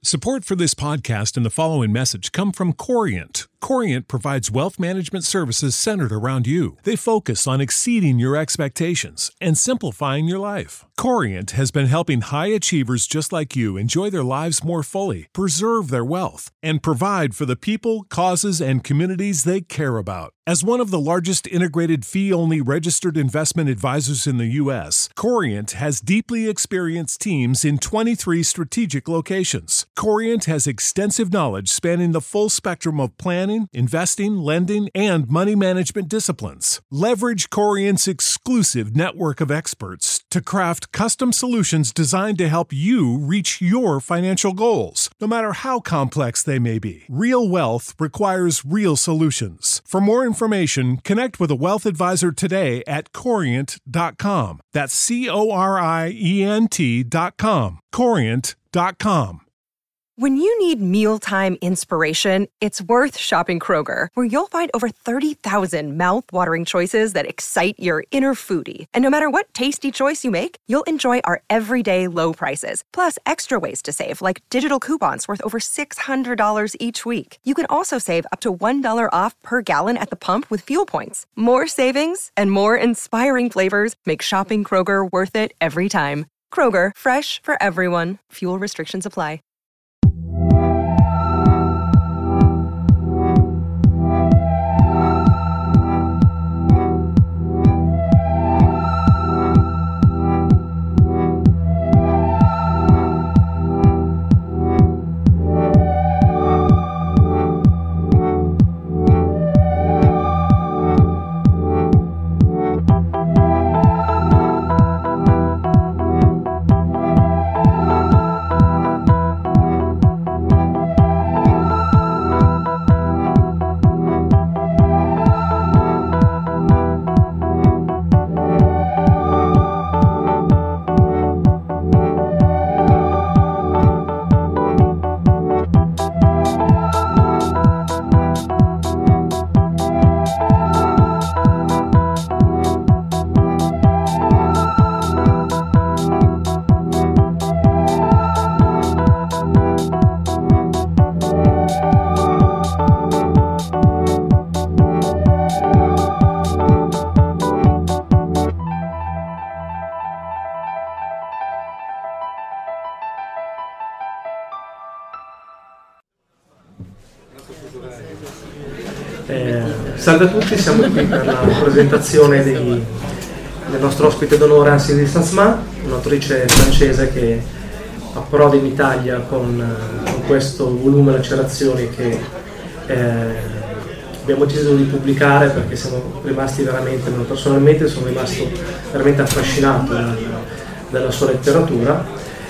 Support for this podcast and the following message come from Corient. Corient provides wealth management services centered around you. They focus on exceeding your expectations and simplifying your life. Corient has been helping high achievers just like you enjoy their lives more fully, preserve their wealth, and provide for the people, causes, and communities they care about. As one of the largest integrated fee-only registered investment advisors in the U.S., Corient has deeply experienced teams in 23 strategic locations. Corient has extensive knowledge spanning the full spectrum of planning, investing, lending, and money management disciplines. Leverage Corient's exclusive network of experts to craft custom solutions designed to help you reach your financial goals, no matter how complex they may be. Real wealth requires real solutions. For more information, connect with a wealth advisor today at Corient.com. That's Corient.com. Corient.com. When you need mealtime inspiration, it's worth shopping Kroger, where you'll find over 30,000 mouth-watering choices that excite your inner foodie. And no matter what tasty choice you make, you'll enjoy our everyday low prices, plus extra ways to save, like digital coupons worth over $600 each week. You can also save up to $1 off per gallon at the pump with fuel points. More savings and more inspiring flavors make shopping Kroger worth it every time. Kroger, fresh for everyone. Fuel restrictions apply. Salve a tutti, siamo qui per la presentazione del nostro ospite d'onore Anselme Saint-Amand, un'autrice francese che approda in Italia con questo volume Lacerazioni che abbiamo deciso di pubblicare perché siamo rimasti veramente, personalmente sono rimasto veramente affascinato dalla sua letteratura.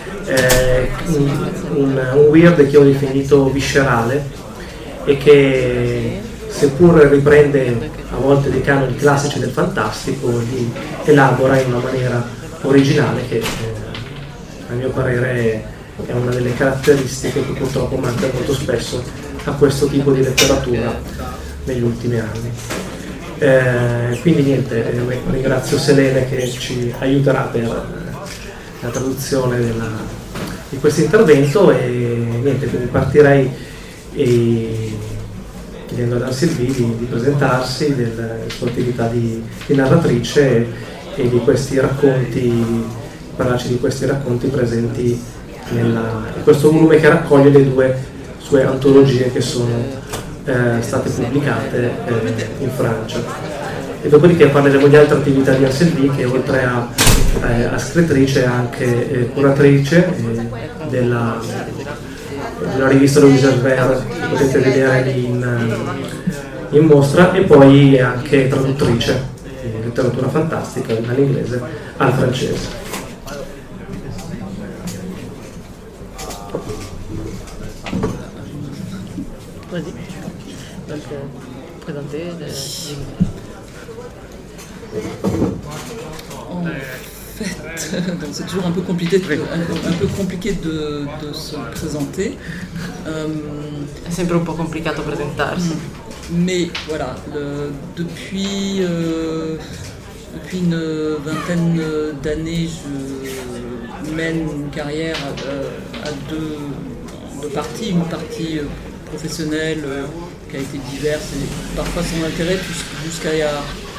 Un weird che ho definito viscerale e che, seppur riprende a volte dei canoni classici del fantastico, li elabora in una maniera originale che a mio parere è una delle caratteristiche che purtroppo manca molto spesso a questo tipo di letteratura negli ultimi anni. Quindi niente, ringrazio Selene che ci aiuterà per la traduzione di questo intervento e niente, quindi partirei chiedendo ad Anselme di presentarsi, della sua attività di narratrice e di questi racconti, parlarci di questi racconti presenti in questo volume che raccoglie le due sue antologie che sono state pubblicate in Francia. E dopodiché parleremo di altre attività di Anselme che oltre a scrittrice è anche curatrice della rivista Louise Albert che potete vedere in mostra, e poi è anche traduttrice di letteratura fantastica dall'inglese al francese. Vas-y. Donc, présenter En fait, c'est toujours un peu compliqué de se présenter. È sempre un po' complicato presentarsi. Mais voilà, depuis une vingtaine d'années, je mène une carrière à deux parties. Une partie professionnelle qui a été diverse et parfois sans intérêt, jusqu'à il y a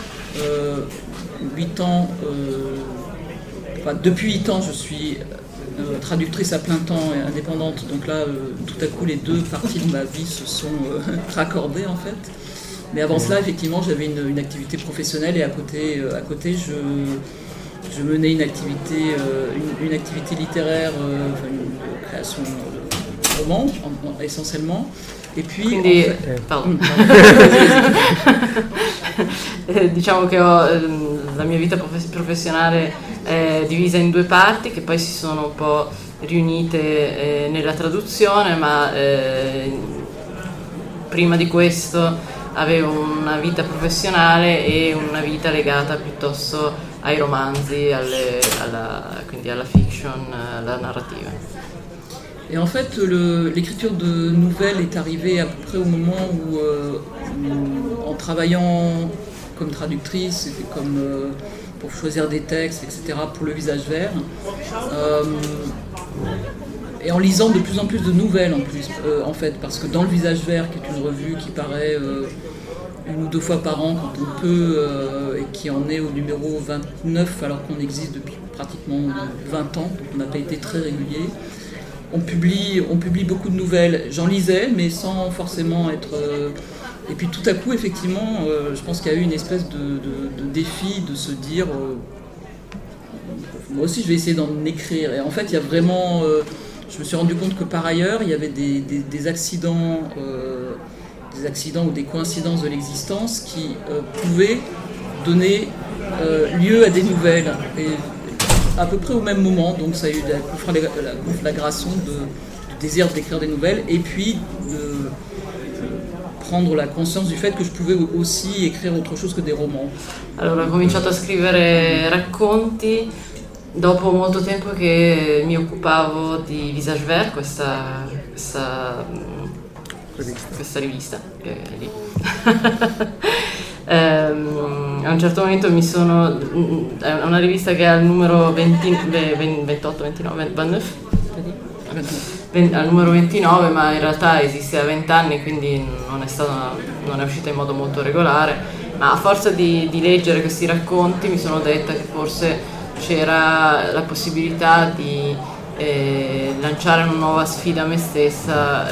8 ans. Depuis 8 ans, je suis traductrice à plein temps et indépendante. Donc là, tout à coup, les deux parties de ma vie se sont raccordées en fait. Mais avant cela, effectivement, j'avais une activité professionnelle et à côté, je menais une activité littéraire, une création de romans essentiellement. E puis, quindi, pardon. Diciamo che la mia vita professionale è divisa in 2 parti che poi si sono un po' riunite nella traduzione, ma prima di questo avevo una vita professionale e una vita legata piuttosto ai romanzi, quindi alla fiction, alla narrativa. Et en fait, l'écriture de nouvelles est arrivée à peu près au moment où en travaillant comme traductrice, pour choisir des textes, etc., pour le Visage Vert, et en lisant de plus en plus de nouvelles en plus, en fait, parce que dans le Visage Vert, qui est une revue qui paraît 1 ou 2 fois par an quand on peut, et qui en est au numéro 29 alors qu'on existe depuis pratiquement 20 ans, donc on n'a pas été très régulier. On publie beaucoup de nouvelles. J'en lisais, mais sans forcément être... Et puis tout à coup, effectivement, je pense qu'il y a eu une espèce de défi de se dire moi aussi, je vais essayer d'en écrire. Et en fait, il y a vraiment... je me suis rendu compte que par ailleurs, il y avait des accidents ou des coïncidences de l'existence qui pouvaient donner lieu à des nouvelles. Et à peu près au même moment, donc ça a eu la conflagration du désir d'écrire des nouvelles et puis de prendre la conscience du fait que je pouvais aussi écrire autre chose que des romans. Allora ho cominciato a scrivere racconti dopo molto tempo che mi occupavo di Visage Vert, questa rivista che è lì. A un certo momento è una rivista che ha il numero 28, 29, 29? Al numero 29, ma in realtà esiste da 20 anni, quindi non è uscita in modo molto regolare, ma a forza di leggere questi racconti mi sono detta che forse c'era la possibilità di lanciare una nuova sfida a me stessa,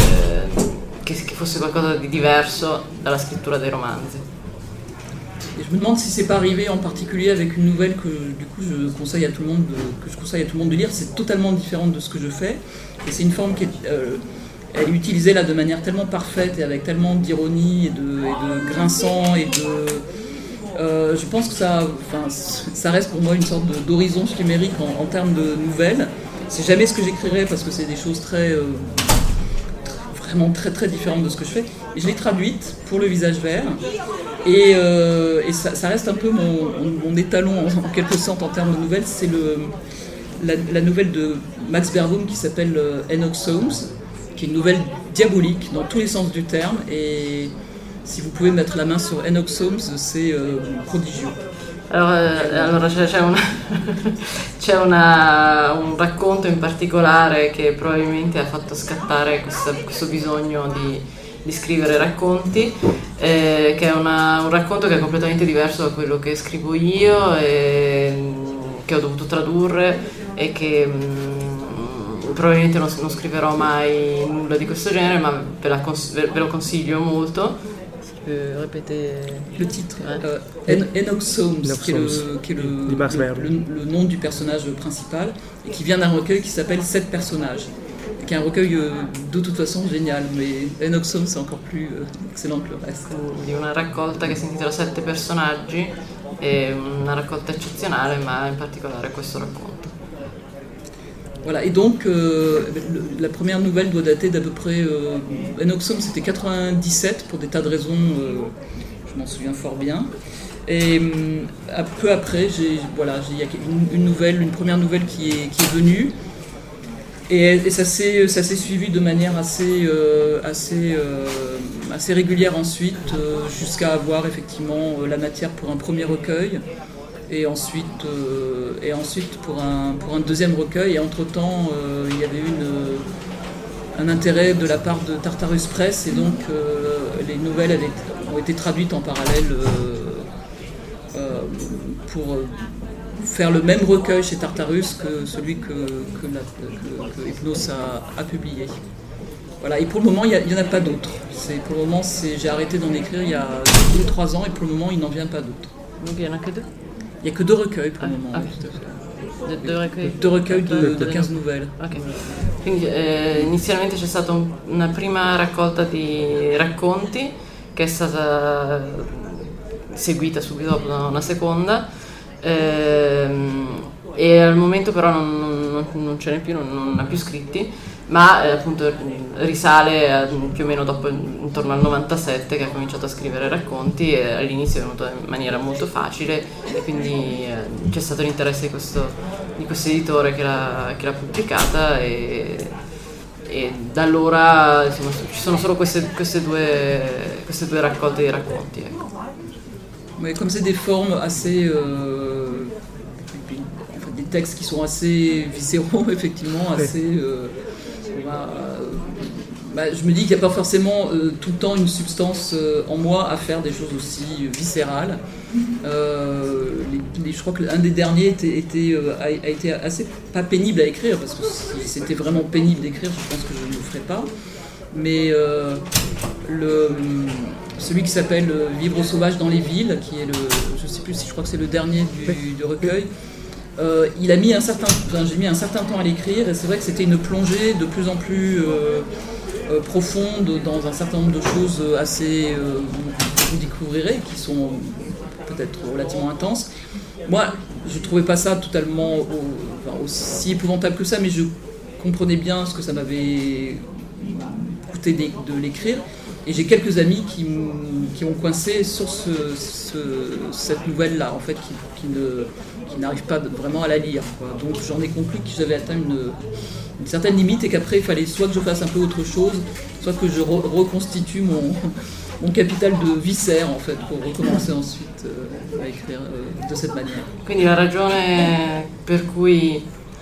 che fosse qualcosa di diverso dalla scrittura dei romanzi. Et je me demande si c'est pas arrivé en particulier avec une nouvelle que du coup je conseille à tout le monde de lire. C'est totalement différent de ce que je fais et c'est une forme qui elle est utilisée là de manière tellement parfaite et avec tellement d'ironie et de grinçant et de je pense que ça reste pour moi une sorte d'horizon chimérique en termes de nouvelles. C'est jamais ce que j'écrirais parce que c'est des choses vraiment très très différentes de ce que je fais. Et je l'ai traduite pour le Visage Vert et ça reste un peu mon étalon en quelque sorte en termes de nouvelles. C'est la nouvelle de Max Beerbohm qui s'appelle Enoch Soames, qui est une nouvelle diabolique dans tous les sens du terme. Et si vous pouvez mettre la main sur Enoch Soames, c'est prodigieux. Allora c'è un racconto in particolare che probabilmente ha fatto scattare questo bisogno di scrivere racconti, che è un racconto che è completamente diverso da quello che scrivo io e che ho dovuto tradurre e che probabilmente non scriverò mai nulla di questo genere, ma ve lo consiglio molto. Répéter le titre, Enoch Soames, qui est le nom du personnage principal et qui vient d'un recueil qui s'appelle 7 personnages, qui est un recueil de toute façon génial, mais Enoch Soames c'est encore plus excellent que le reste. Di una raccolta che si intitola 7 personaggi, è una raccolta eccezionale, ma in particolare questo racconto. Voilà, et donc la première nouvelle doit dater d'à peu près... Enoch Soames c'était 97 pour des tas de raisons, je m'en souviens fort bien. Et peu après, il y a une première nouvelle qui est venue. Et ça s'est suivi de manière assez régulière ensuite, jusqu'à avoir effectivement la matière pour un premier recueil. Et ensuite pour un deuxième recueil. Et entre-temps, il y avait un intérêt de la part de Tartarus Press, et donc les nouvelles ont été traduites en parallèle pour faire le même recueil chez Tartarus que celui que Hypnos a publié. Voilà, et pour le moment, il n'y en a pas d'autres. Pour le moment, j'ai arrêté d'en écrire il y a 2 ou 3 ans, et pour le moment, il n'en vient pas d'autres. Donc il n'y en a que 2 ? Il n'y a que 2 recueils pour le moment. Ah. Tout à fait. 2 recueil. 2 recueils de 15 nouvelles. Ok. Quindi inizialmente c'è stata una prima raccolta di racconti che è stata seguita subito dopo da una seconda, e al momento però non ce n'è più, non ha più scritti, ma appunto risale più o meno dopo, intorno al 97, che ha cominciato a scrivere racconti, e all'inizio è venuto in maniera molto facile, e quindi c'è stato l'interesse di questo editore che l'ha pubblicata, e da allora insomma, ci sono solo queste due raccolte di racconti, ecco. Mais comme c'est des formes assez, des textes qui sont assez viscéraux, effectivement, assez. Je me dis qu'il n'y a pas forcément tout le temps une substance en moi à faire des choses aussi viscérales. Je crois que l'un des derniers a été assez pas pénible à écrire, parce que si c'était vraiment pénible d'écrire, je pense que je ne le ferais pas. Mais celui qui s'appelle Vivre sauvage dans les villes, qui est je sais plus si je crois que c'est le dernier du recueil, il a mis j'ai mis un certain temps à l'écrire, et c'est vrai que c'était une plongée de plus en plus profonde dans un certain nombre de choses assez que vous découvrirez, qui sont peut-être relativement intenses. Moi, je trouvais pas ça totalement aussi épouvantable que ça, mais je comprenais bien ce que ça m'avait coûté de l'écrire. Et j'ai quelques amis qui ont coincé sur cette nouvelle-là, en fait, qui n'arrivent pas vraiment à la lire, quoi. Donc j'en ai conclu que j'avais atteint une certaine limite, et qu'après il fallait soit que je fasse un peu autre chose, soit que je reconstitue mon capital de viscère, en fait, pour recommencer ensuite à écrire de cette manière. Quindi la ragione per cui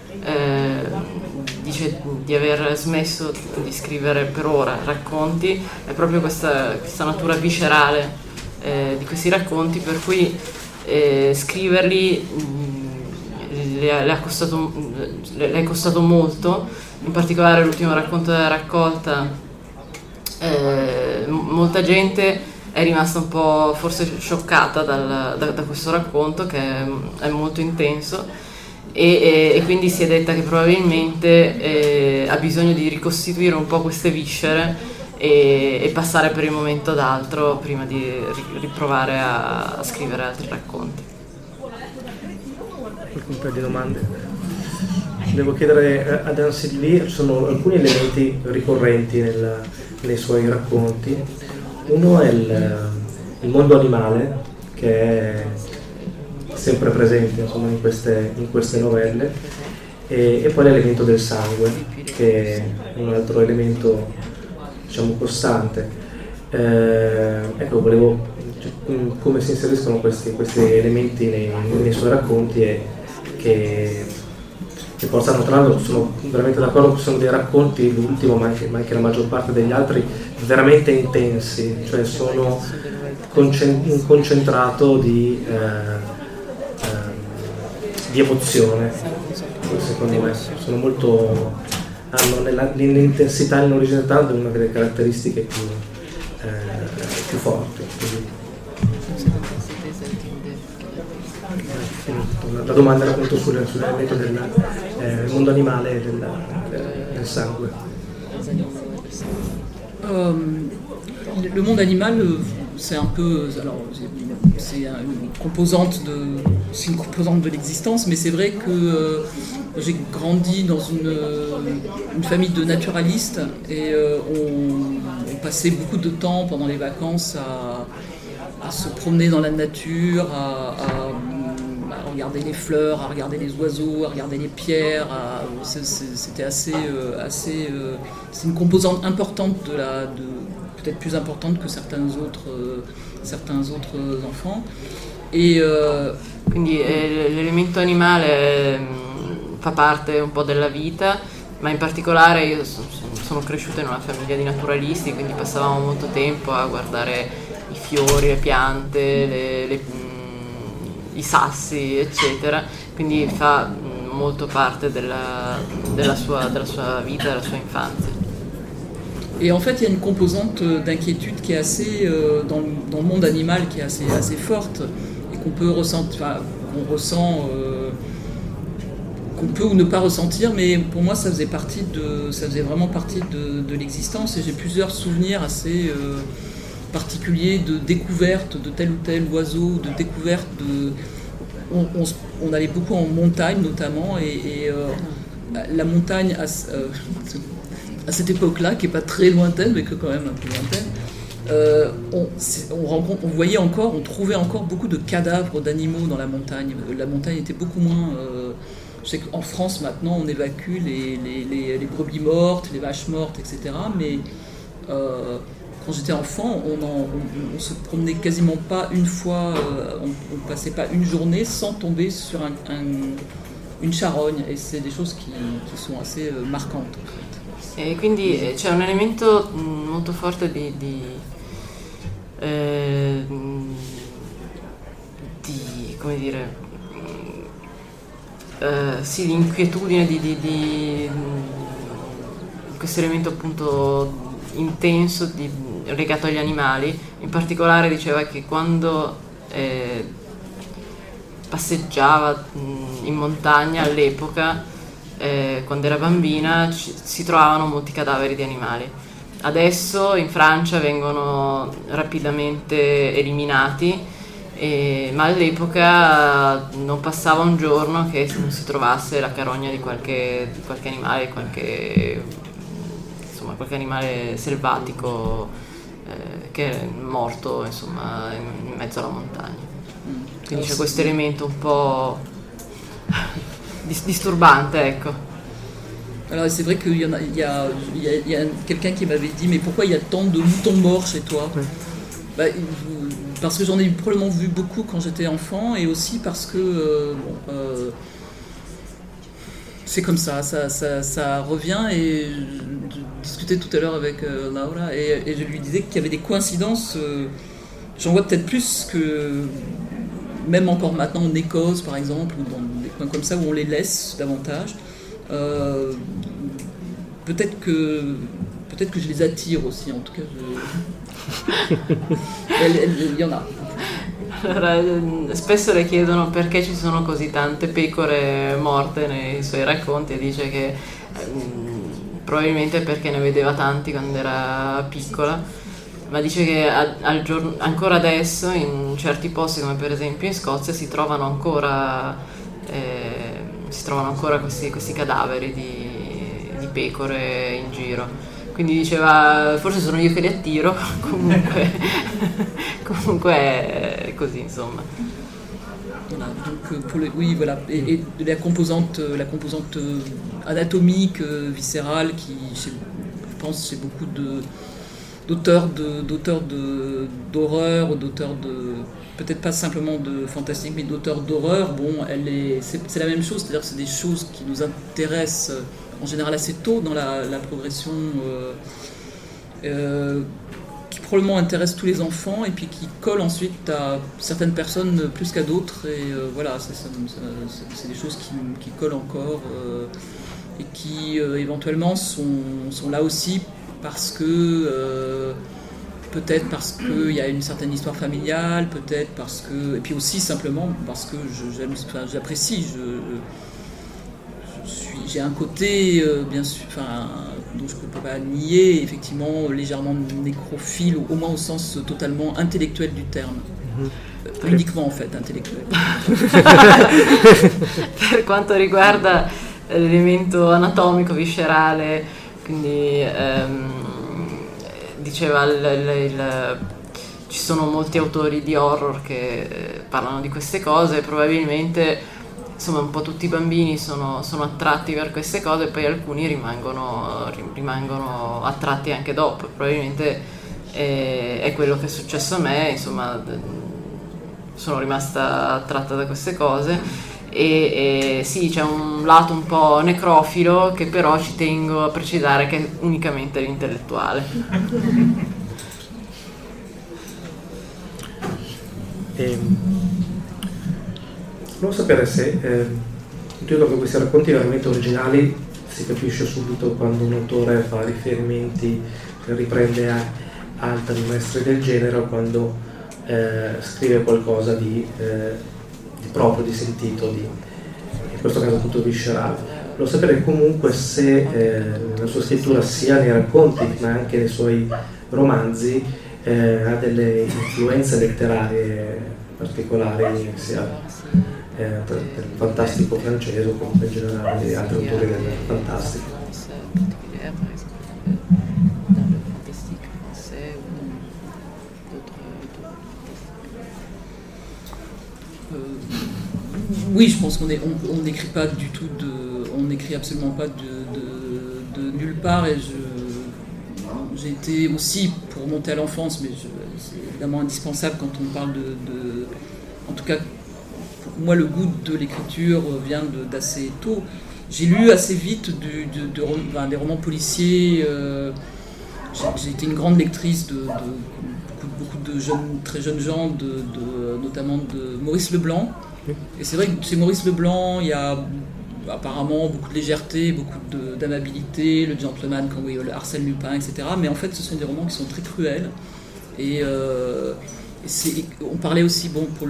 dice di aver smesso di scrivere per ora racconti è proprio questa natura viscerale di questi racconti, per cui scriverli le è costato molto. In particolare l'ultimo racconto della raccolta, molta gente è rimasta un po' forse scioccata da questo racconto, che è molto intenso, e quindi si è detta che probabilmente ha bisogno di ricostituire un po' queste viscere e passare per il momento ad altro prima di riprovare a scrivere altri racconti. Un paio di domande. Devo chiedere ad Anne Sylvie, ci sono alcuni elementi ricorrenti nei suoi racconti. Uno è il mondo animale, che è sempre presente, insomma, in queste novelle, e poi l'elemento del sangue, che è un altro elemento, diciamo, costante. Ecco, volevo come si inseriscono questi elementi nei suoi racconti, e che possano, tra l'altro sono veramente d'accordo che sono dei racconti, l'ultimo ma anche la maggior parte degli altri, veramente intensi, cioè sono un concentrato di emozione, secondo me sono molto, hanno nell'intensità e nell'originalità una delle caratteristiche più forti. La domanda era appunto sull'elemento del mondo animale e del sangue. Le monde animal, c'est un peu, alors c'est une composante de l'existence, mais c'est vrai que j'ai grandi dans une famille de naturalistes, et on passait beaucoup de temps pendant les vacances à se promener dans la nature, à regarder les fleurs, à regarder les oiseaux, à regarder les pierres. C'était assez c'est une composante importante peut-être plus importante que certains autres enfants. E quindi l'elemento animale fa parte un po' della vita, ma in particolare io sono sono cresciuta in una famiglia di naturalisti, quindi passavamo molto tempo a guardare i fiori, le piante, i sassi, eccetera, quindi fa molto parte della sua vita, della sua infanzia. Et en fait, il y a une composante d'inquiétude qui est assez, dans le monde animal, qui est assez forte, et qu'on peut ressentir, qu'on ressent, qu'on peut ou ne pas ressentir, mais pour moi, ça faisait vraiment partie de l'existence, et j'ai plusieurs souvenirs assez particuliers de découverte de tel ou tel oiseau, de découverte de... On allait beaucoup en montagne notamment, et la montagne... à cette époque-là, qui n'est pas très lointaine, mais que quand même un peu lointaine, on trouvait encore beaucoup de cadavres d'animaux dans la montagne. La montagne était beaucoup moins... je sais qu'en France, maintenant, on évacue les brebis mortes, les vaches mortes, etc. Mais quand j'étais enfant, on se promenait quasiment pas une fois, on passait pas une journée sans tomber sur une charogne. Et c'est des choses qui sont assez marquantes, en fait. E quindi c'è un elemento molto forte di come dire, sì, di inquietudine, di questo elemento appunto intenso legato agli animali. In particolare diceva che quando passeggiava in montagna all'epoca, quando era bambina, si trovavano molti cadaveri di animali. Adesso in Francia vengono rapidamente eliminati, ma all'epoca non passava un giorno che non si trovasse la carogna di qualche animale, qualche animale selvatico che è morto, insomma, in mezzo alla montagna. Quindi c'è questo elemento un po' disturbante, ecco. Alors c'est vrai qu'il y a quelqu'un qui m'avait dit mais pourquoi il y a tant de moutons morts chez toi? Ouais. Parce que j'en ai probablement vu beaucoup quand j'étais enfant, et aussi parce que c'est comme ça revient. Et je discutais tout à l'heure avec Laura, et je lui disais qu'il y avait des coïncidences, j'en vois peut-être plus que même encore maintenant en Écosse par exemple, ou dans des coins comme ça où on les laisse davantage. Peut-être que je les attire aussi, en tout cas il y en a. Allora, spesso le chiedono perché ci sono così tante pecore morte nei suoi racconti, e dice che probabilmente perché ne vedeva tanti quando era piccola, ma dice che ancora adesso in certi posti, come per esempio in Scozia, si trovano ancora questi cadaveri di pecore in giro. Quindi diceva, forse sono io che li attiro, comunque è così, insomma. Voilà, donc oui, voilà, et la composante anatomique, viscérale, qui, je pense, chez beaucoup d'auteurs d'horreur, d'auteurs peut-être pas simplement de fantastique, mais d'auteurs d'horreur, bon, c'est la même chose, c'est-à-dire que c'est des choses qui nous intéressent en général assez tôt dans la progression, qui probablement intéressent tous les enfants, et puis qui collent ensuite à certaines personnes plus qu'à d'autres, et voilà, c'est des choses qui collent encore, et qui éventuellement sont là aussi parce que peut-être parce qu'il y a une certaine histoire familiale, peut-être parce que, et puis aussi simplement parce que j'apprécie, j'ai un côté, bien sûr, dont je ne peux pas nier, effectivement, légèrement nécrophile, au moins au sens totalement intellectuel du terme. Uniquement, en fait, intellettuale. Per quanto riguarda l'elemento anatomico, viscerale, quindi diceva ci sono molti autori di horror che parlano di queste cose, probabilmente insomma un po' tutti i bambini sono attratti per queste cose, e poi alcuni rimangono attratti anche dopo. Probabilmente è quello che è successo a me, insomma sono rimasta attratta da queste cose, e sì, c'è un lato un po' necrofilo che però ci tengo a precisare che è unicamente l'intellettuale. Volevo sapere se tu che questi racconti veramente originali si capisce subito quando un autore fa riferimenti, riprende altri maestri del genere, o quando scrive qualcosa di proprio, di sentito, in questo caso appunto viscerale. Volevo sapere comunque se nella sua scrittura, sia nei racconti ma anche nei suoi romanzi, ha delle influenze letterarie particolari, sia per il fantastico francese o comunque in generale di altri autori del fantastico. Oui, je pense qu'on n'écrit pas du tout on n'écrit absolument pas de nulle part, et j'ai été aussi, pour monter à l'enfance, mais c'est évidemment indispensable quand on parle en tout cas, pour moi, le goût de l'écriture vient d'assez tôt. J'ai lu assez vite des romans policiers. J'ai été une grande lectrice de beaucoup de très jeunes gens, notamment de Maurice Leblanc. Et c'est vrai que chez Maurice Leblanc, il y a apparemment beaucoup de légèreté, beaucoup d'amabilité, le gentleman, le Arsène Lupin, etc. Mais en fait, ce sont des romans qui sont très cruels. Et on parlait aussi, pour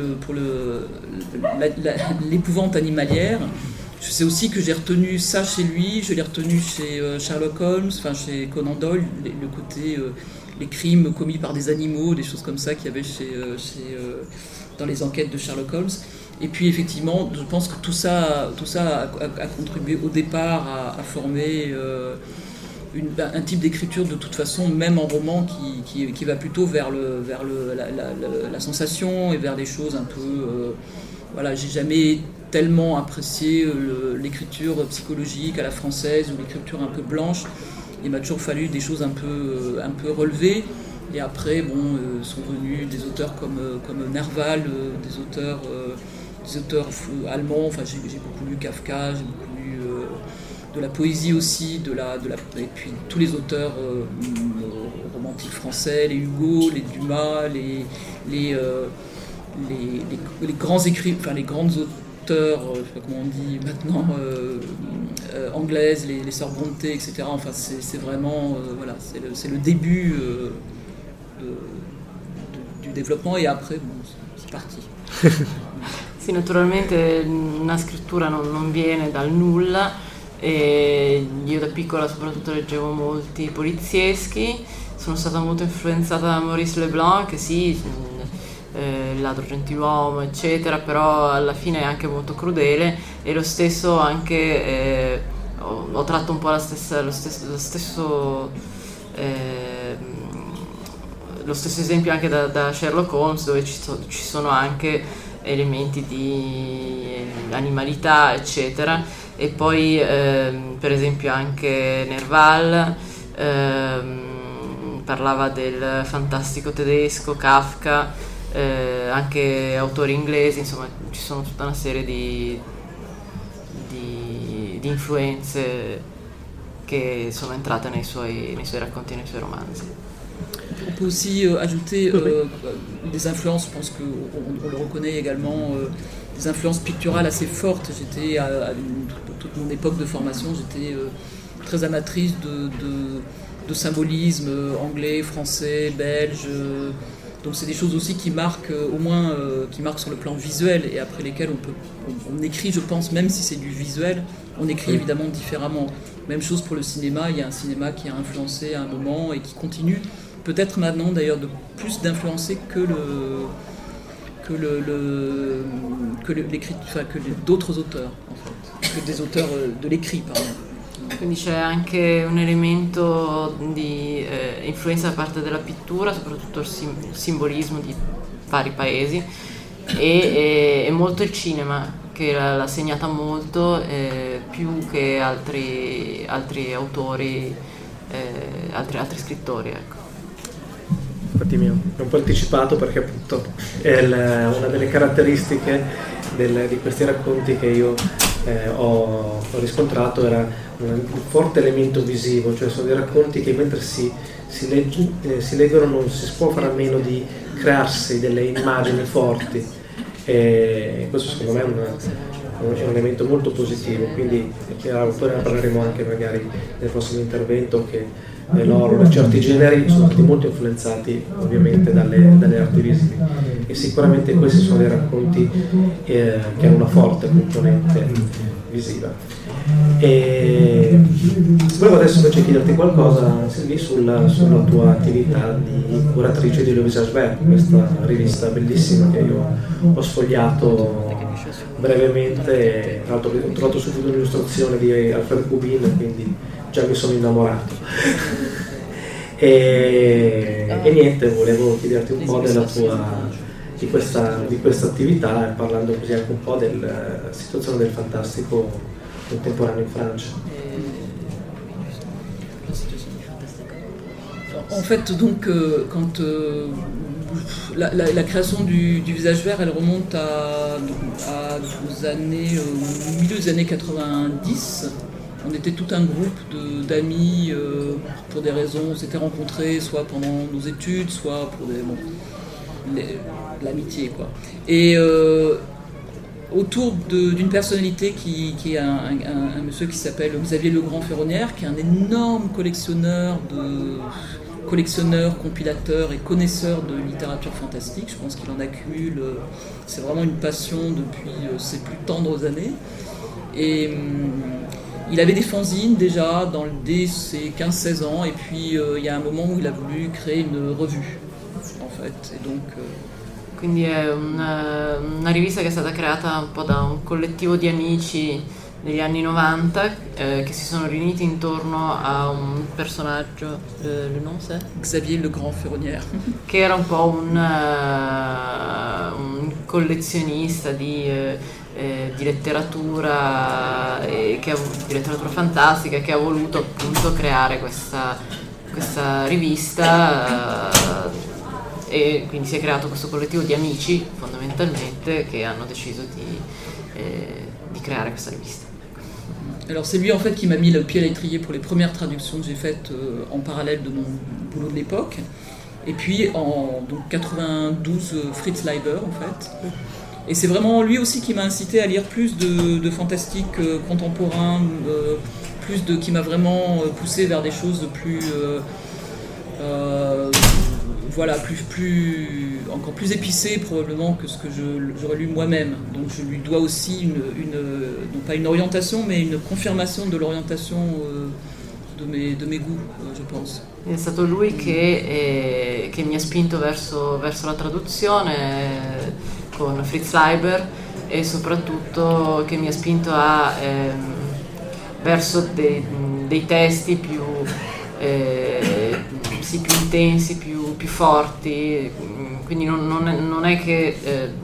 l'épouvante animalière. Je sais aussi que j'ai retenu ça chez lui, je l'ai retenu chez Sherlock Holmes, enfin chez Conan Doyle, le côté les crimes commis par des animaux, des choses comme ça qu'il y avait dans les enquêtes de Sherlock Holmes. Et puis effectivement, je pense que tout ça a contribué au départ à former un type d'écriture de toute façon, même en roman, qui va plutôt vers la sensation et vers des choses un peu... voilà, j'ai jamais tellement apprécié l'écriture psychologique à la française ou l'écriture un peu blanche. Il m'a toujours fallu des choses un peu relevées. Et après, sont venus des auteurs comme Nerval, des auteurs allemands. Enfin, j'ai beaucoup lu Kafka, j'ai beaucoup lu de la poésie aussi, et puis tous les auteurs romantiques français, les Hugo, les Dumas, les grands écrivains, enfin les grandes auteurs, je sais pas comment on dit maintenant, anglaises, les sœurs Brontë, etc. Enfin, c'est vraiment, voilà, c'est le début du développement, et après, c'est parti. Sì, naturalmente una scrittura non viene dal nulla, e io da piccola soprattutto leggevo molti polizieschi, sono stata molto influenzata da Maurice Leblanc, che sì, il ladro gentiluomo eccetera, però alla fine è anche molto crudele, e lo stesso anche ho tratto un po' lo stesso esempio anche da Sherlock Holmes, dove ci sono anche elementi di animalità eccetera, e poi per esempio anche Nerval parlava del fantastico tedesco, Kafka, anche autori inglesi, insomma ci sono tutta una serie di influenze che sono entrate nei suoi racconti e nei suoi romanzi. On peut aussi ajouter des influences, je pense qu'on le reconnaît également, des influences picturales assez fortes. J'étais, toute mon époque de formation, j'étais très amatrice de symbolisme anglais, français, belge. Donc c'est des choses aussi qui marquent, au moins qui marquent sur le plan visuel, et après lesquelles on écrit, je pense, même si c'est du visuel, on écrit évidemment différemment. Même chose pour le cinéma, il y a un cinéma qui a influencé à un moment et qui continue, peut-être maintenant d'ailleurs plus d'influencer que d'autres auteurs, en fait, que des auteurs de l'écrit, pardon. Quindi c'è anche un elemento di influenza da parte della pittura, soprattutto il simbolismo di vari paesi, e molto il cinema, che l'ha segnata molto, più che altri autori, altri scrittori, ecco. Infatti mi ho un po' anticipato, perché appunto è una delle caratteristiche di questi racconti che io ho riscontrato era un forte elemento visivo, cioè sono dei racconti che mentre si leggono non si può fare a meno di crearsi delle immagini forti, e questo secondo me è un elemento molto positivo, quindi poi ne parleremo anche magari nel prossimo intervento, che l'horror e certi generi sono stati molto influenzati ovviamente dalle arti visive, e sicuramente questi sono dei racconti che hanno una forte componente visiva. E volevo adesso invece chiederti qualcosa, Sylvie, sulla tua attività di curatrice di Le Visage Vert, questa rivista bellissima che io ho sfogliato brevemente, tra l'altro ho trovato subito un'illustrazione di Alfred Kubin, quindi già mi sono innamorato. E niente, volevo chiederti un po' di questa attività, parlando così anche un po' della situazione del fantastico contemporaneo in Francia. En fait, donc, quand la création du Visage Vert, elle remonte aux années, au milieu des années 90. On était tout un groupe d'amis, pour des raisons, on s'était rencontrés soit pendant nos études, soit pour l'amitié, quoi. Et autour d'une personnalité qui est un monsieur qui s'appelle Xavier Legrand-Ferronnière, qui est un énorme collectionneur, compilateur et connaisseur de littérature fantastique. Je pense qu'il en accumule, c'est vraiment une passion depuis ses plus tendres années. Et il avait des fanzines déjà dès ses 15-16 ans, et puis il y a un moment où il a voulu créer une revue, en fait. Et donc, quindi è una rivista che è stata creata un po' da un collettivo di amici degli anni 90 che si sono riuniti intorno a un personaggio, le nom c'est? Xavier Legrand-Ferronnière, che era un po' un collezionista di letteratura, di letteratura fantastica, che ha voluto appunto creare questa rivista, e quindi si è creato questo collettivo di amici fondamentalmente che hanno deciso di creare questa rivista. Alors c'est lui en fait qui m'a mis le pied à l'étrier pour les premières traductions que j'ai faites en parallèle de mon boulot de l'époque. Et puis en 92, Fritz Leiber en fait. Et c'est vraiment lui aussi qui m'a incité à lire plus de fantastique contemporain, qui m'a vraiment poussé vers des choses plus encore plus épicées probablement que ce que j'aurais lu moi-même. Donc je lui dois aussi non pas une orientation, mais une confirmation de l'orientation de mes goûts, je pense. È stato lui che mi ha spinto verso la traduzione con Fritz Leiber, e soprattutto che mi ha spinto verso dei testi più intensi, più forti. Quindi non è che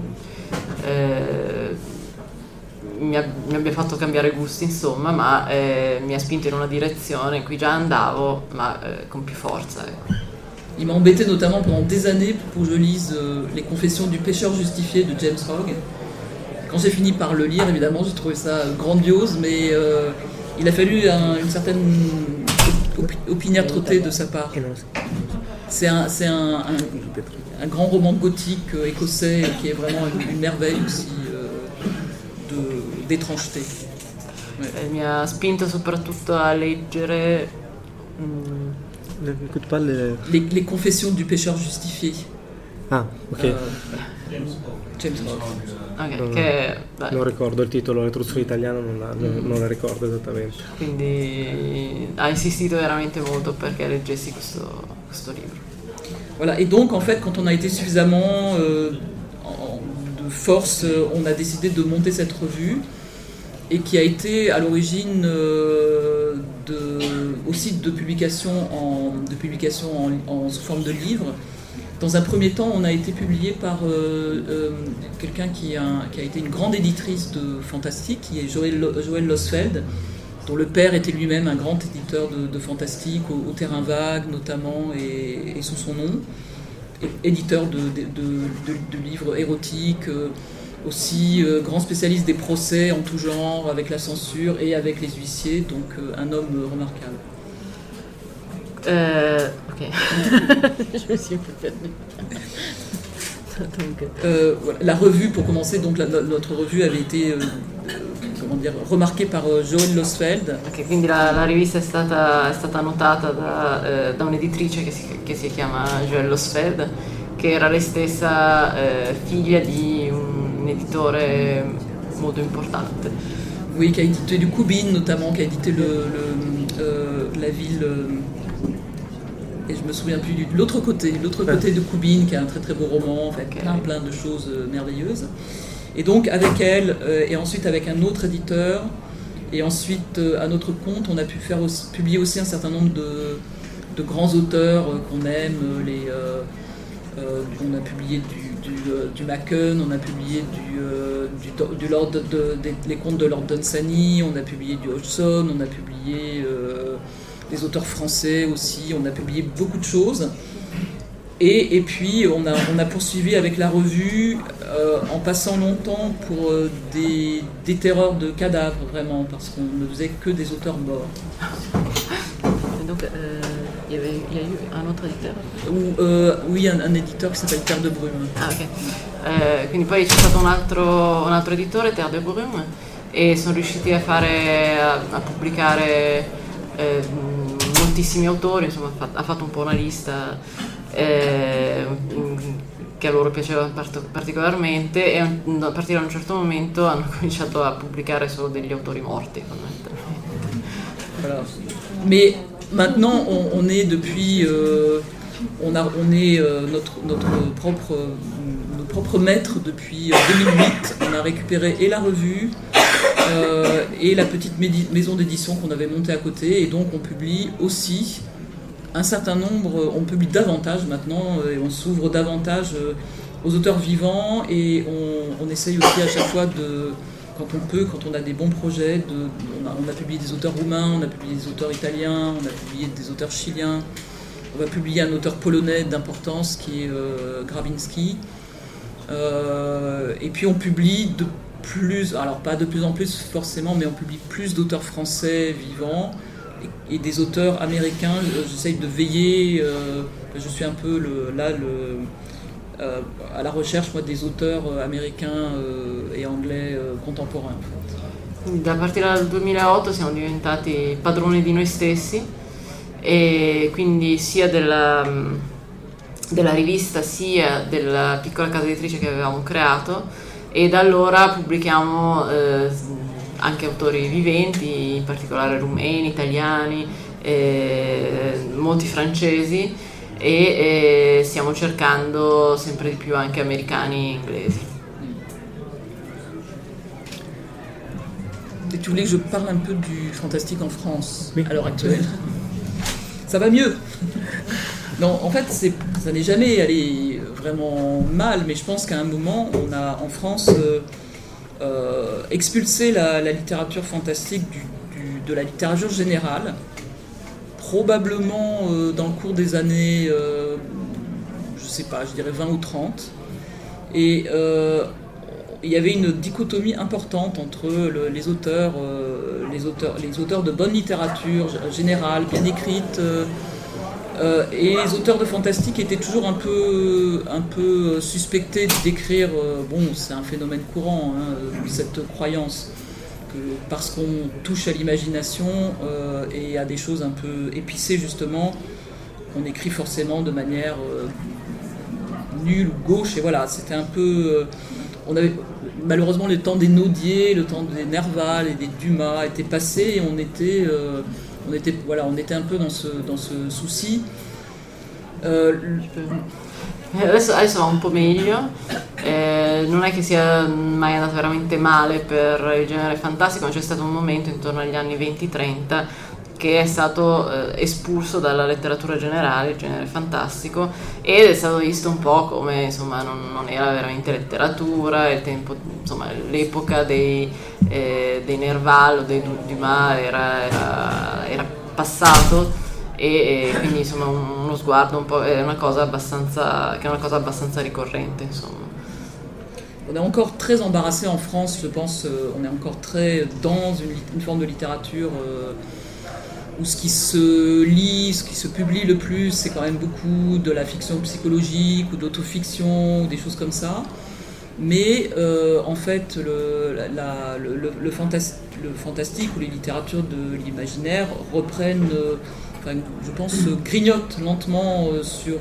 mi abbia fatto cambiare gusti, insomma, ma mi ha spinto in una direzione in cui già andavo, ma con più forza. Il m'a embêté notamment pendant des années pour que je lise Les Confessions du Pécheur Justifié de James Hogg. Quand j'ai fini par le lire, évidemment, j'ai trouvé ça grandiose, mais il a fallu une certaine opiniâtreté de sa part. C'est un grand roman gothique écossais qui est vraiment une merveille aussi d'étrangeté. Ouais. Mi ha spinto soprattutto a leggere les Confessions du Pécheur Justifié. Ah, ok. James Hogg. Okay, non ricordo il titolo, la traduzione italiana non la ricordo esattamente. Quindi ha insistito veramente molto perché leggessi questo libro. Voilà, et donc en fait quand on a été suffisamment de force, on a décidé de monter cette revue, et qui a été à l'origine aussi de publication sous forme de livre. Dans un premier temps, on a été publié par quelqu'un qui a été une grande éditrice de fantastique, qui est Joël Losfeld, dont le père était lui-même un grand éditeur de fantastique, au Terrain Vague notamment, et sous son nom, éditeur de livres érotiques, aussi grand spécialiste des procès en tout genre, avec la censure et avec les huissiers, donc un homme remarquable. Ok, je me suis un peu perdue. Voilà. La revue, pour commencer, donc notre revue avait été remarquée par Joël Losfeld. Ok, quindi la rivista è stata notata da un'editrice che si chiama Joël Losfeld, che era lei stessa figlia di un editore molto importante. Oui, qui a édité du Koubine notamment, qui a édité la ville... et je me souviens plus de l'autre côté de Koubine, qui a un très très beau roman, en fait, plein de choses merveilleuses. Et donc avec elle, et ensuite avec un autre éditeur, et ensuite à notre compte, on a pu publier aussi un certain nombre de grands auteurs qu'on aime. On a publié du Machen, on a publié les contes de Lord Dunsany, on a publié du Hodgson, on a publié des auteurs français aussi, on a publié beaucoup de choses. Et puis on a poursuivi avec la revue en passant longtemps pour des terreurs de cadavres, vraiment, parce qu'on ne faisait que des auteurs morts. Donc il y a eu un autre éditeur? Oui, un éditeur qui s'appelle Terre de Brume. Ah, ok. Quindi poi c'è stato un altro editore, Terre de Brume, e sono riusciti a pubblicare moltissimi autori, insomma ha fatto un po' una lista che a loro piaceva particolarmente, e a partire da un certo momento hanno cominciato a pubblicare solo degli autori morti, fondamentalmente. Voilà. Mais maintenant on est depuis nos propres maîtres depuis 2008. On a récupéré et la revue et la petite maison d'édition qu'on avait montée à côté, et donc on publie aussi un certain nombre, on publie davantage maintenant, et on s'ouvre davantage aux auteurs vivants, et on essaye aussi à chaque fois quand on peut, quand on a des bons projets, on a publié des auteurs roumains, on a publié des auteurs italiens, on a publié des auteurs chiliens, on va publier un auteur polonais d'importance qui est Grabinski, et puis on publie alors pas de plus en plus forcément, mais on publie plus d'auteurs français vivants et des auteurs américains. J'essaye de veiller, je suis un peu à la recherche, moi, des auteurs américains e anglais contemporains. Da partire dal 2008 siamo diventati padroni di noi stessi, e quindi sia della rivista sia della piccola casa editrice che avevamo creato, e da allora pubblichiamo anche autori viventi, in particolare rumeni, italiani, molti francesi, e stiamo cercando sempre di più anche americani e inglesi. Et tu voulais que je parle un peu du fantastique en France, oui, à l'heure actuelle? Ça va mieux. Non, en fait, ça n'est jamais allé vraiment mal, mais je pense qu'à un moment, on a en France expulsé la littérature fantastique de la littérature générale, probablement dans le cours des années, je sais pas, je dirais 20 ou 30. Et il y avait une dichotomie importante entre les auteurs de bonne littérature générale, bien écrite, et les auteurs de fantastique étaient toujours un peu suspectés d'écrire. Bon, c'est un phénomène courant, cette croyance que parce qu'on touche à l'imagination et à des choses un peu épicées justement, on écrit forcément de manière nulle ou gauche. Et voilà, c'était un peu... on avait malheureusement le temps des Naudier, le temps des Nerval et des Dumas était passé, et on était un peu dans ce souci. Adesso va un po' meglio, non è che sia mai andato veramente male per il genere fantastico, ma c'è stato un momento intorno agli anni 20-30 che è stato espulso dalla letteratura generale, il genere fantastico, ed è stato visto un po' come, insomma, non era veramente letteratura. Il tempo, insomma, l'epoca dei Nerval o dei Dumas era passato, e quindi, insomma, uno sguardo un po' è una cosa abbastanza ricorrente, insomma. on est encore très embarrassé en France, je pense. On est encore très dans une forme de littérature où ce qui se lit, ce qui se publie le plus, c'est quand même beaucoup de la fiction psychologique ou d'autofiction ou des choses comme ça. Mais en fait, le fantastique ou les littératures de l'imaginaire reprennent, je pense, grignotent lentement sur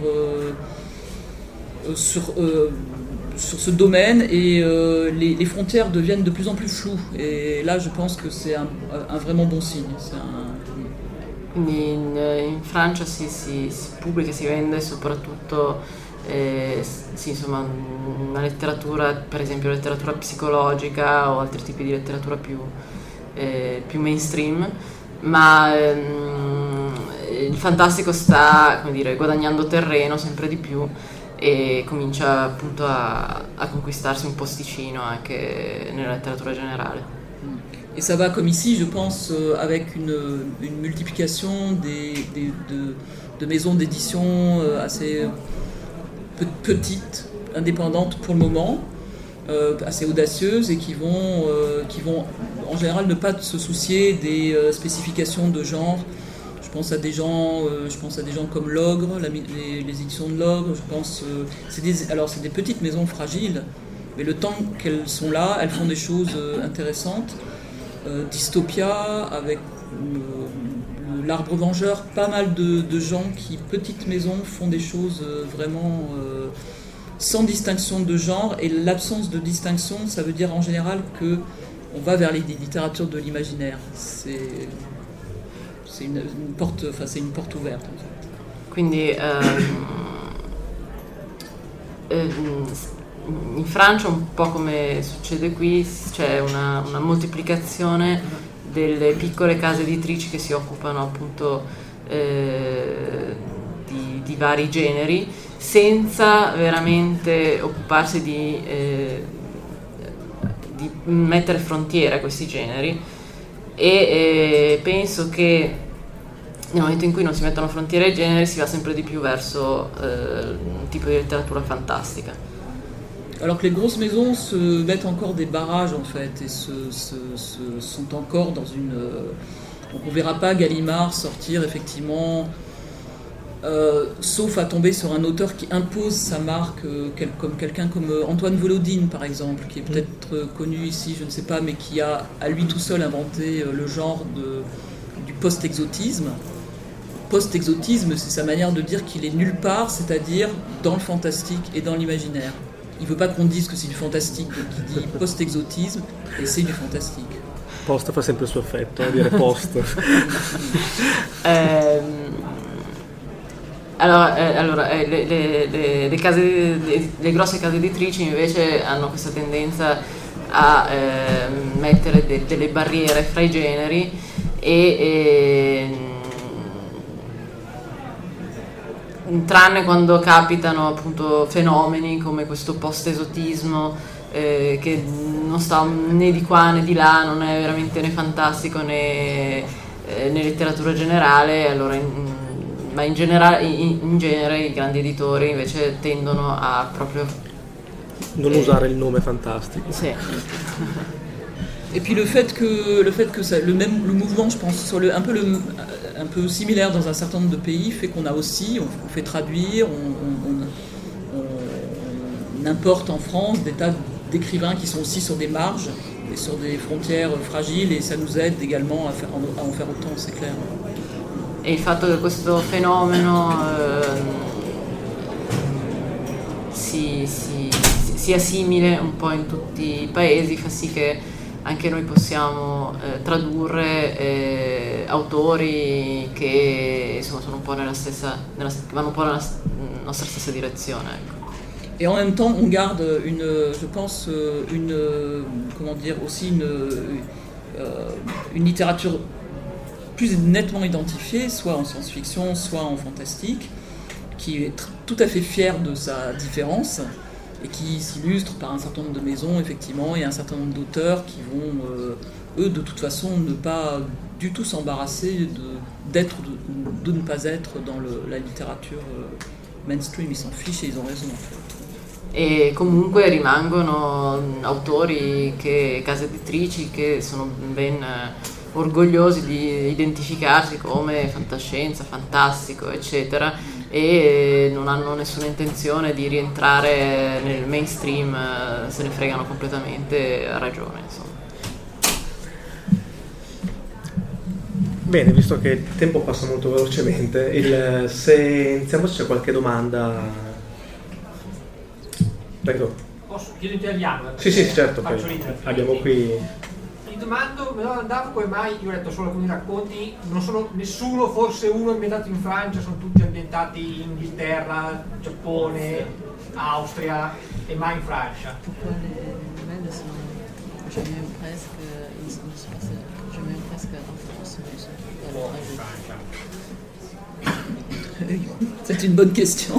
ce domaine et les frontières deviennent de plus en plus floues. Et là, je pense que c'est un vraiment bon signe. Quindi in Francia si pubblica, si vende soprattutto insomma, una letteratura, per esempio letteratura psicologica o altri tipi di letteratura più mainstream, ma il fantastico sta, come dire, guadagnando terreno sempre di più e comincia appunto a conquistarsi un posticino anche nella letteratura générale. Et ça va comme ici, je pense, avec une multiplication de maisons d'édition assez petites, indépendantes pour le moment, assez audacieuses et qui vont en général ne pas se soucier des spécifications de genre. Je pense à des gens comme l'Ogre, les éditions de l'Ogre. Je pense, c'est des petites maisons fragiles, mais le temps qu'elles sont là, elles font des choses intéressantes. Dystopia, avec l'Arbre Vengeur, pas mal de gens qui, petites maisons, font des choses vraiment sans distinction de genre. Et l'absence de distinction, ça veut dire en général qu'on va vers les littératures de l'imaginaire. C'est une porte ouverte en fait. Quindi in Francia, un po' come succede qui, c'è una moltiplicazione delle piccole case editrici che si occupano appunto di vari generi, senza veramente occuparsi di mettere frontiere a questi generi, e penso che nel momento in cui non si mettono frontiere ai generi si va sempre di più verso un tipo di letteratura fantastica. Alors que les grosses maisons se mettent encore des barrages en fait et sont encore dans une... Donc on ne verra pas Gallimard sortir effectivement, sauf à tomber sur un auteur qui impose sa marque, comme quelqu'un comme Antoine Volodine par exemple, qui est peut-être connu ici, je ne sais pas, mais qui a à lui tout seul inventé le genre du post-exotisme. Post-exotisme, c'est sa manière de dire qu'il est nulle part, c'est-à-dire dans le fantastique et dans l'imaginaire. Il ne veut pas qu'on dise que c'est du fantastique, donc il dit post-exotisme et c'est du fantastique. Post fa sempre il suo effetto, dire post. Le grosse case editrici invece hanno questa tendenza a mettere delle barriere fra i generi e tranne quando capitano appunto fenomeni come questo post-esotismo che non sta né di qua né di là, non è veramente né fantastico né letteratura generale, allora ma in genere i grandi editori invece tendono a proprio non usare il nome fantastico. Sì. Et puis le fait que ça, le mouvement, je pense, soit un peu similaire dans un certain nombre de pays, fait qu'on a aussi, on fait traduire, on importe en France des tas d'écrivains qui sont aussi sur des marges et sur des frontières fragiles, et ça nous aide également à en faire autant, c'est clair. E il fatto che questo fenomeno sia simile un po' in tutti i paesi fa sì che anche noi possiamo tradurre autori che insomma sono un po' vanno un po' nella nostra stessa direzione, ecco. Et en même temps, on garde une littérature plus nettement identifiée, soit en science-fiction, soit en fantastique, qui est tout à fait fière de sa différence et qui s'illustre par un certain nombre de maisons, effectivement, et un certain nombre d'auteurs qui vont, eux, de toute façon, ne pas du tout s'embarrasser de ne pas être dans la littérature mainstream. Ils s'en fichent et ils ont raison, en fait. e comunque rimangono autori, case editrici che sono ben orgogliosi di identificarsi come fantascienza, fantastico, eccetera, e non hanno nessuna intenzione di rientrare nel mainstream, se ne fregano completamente, a ragione, insomma. Bene, visto che il tempo passa molto velocemente, se iniziamo, se c'è qualche domanda. Prego. Posso? Chiedo in italiano? Sì, certo. Abbiamo qui. Mi domandavo come mai, io ho letto solo alcuni racconti, non sono nessuno, forse uno ambientato in Francia, sono tutti ambientati in Inghilterra, Giappone, Austria e mai in Francia. C'est une bonne question.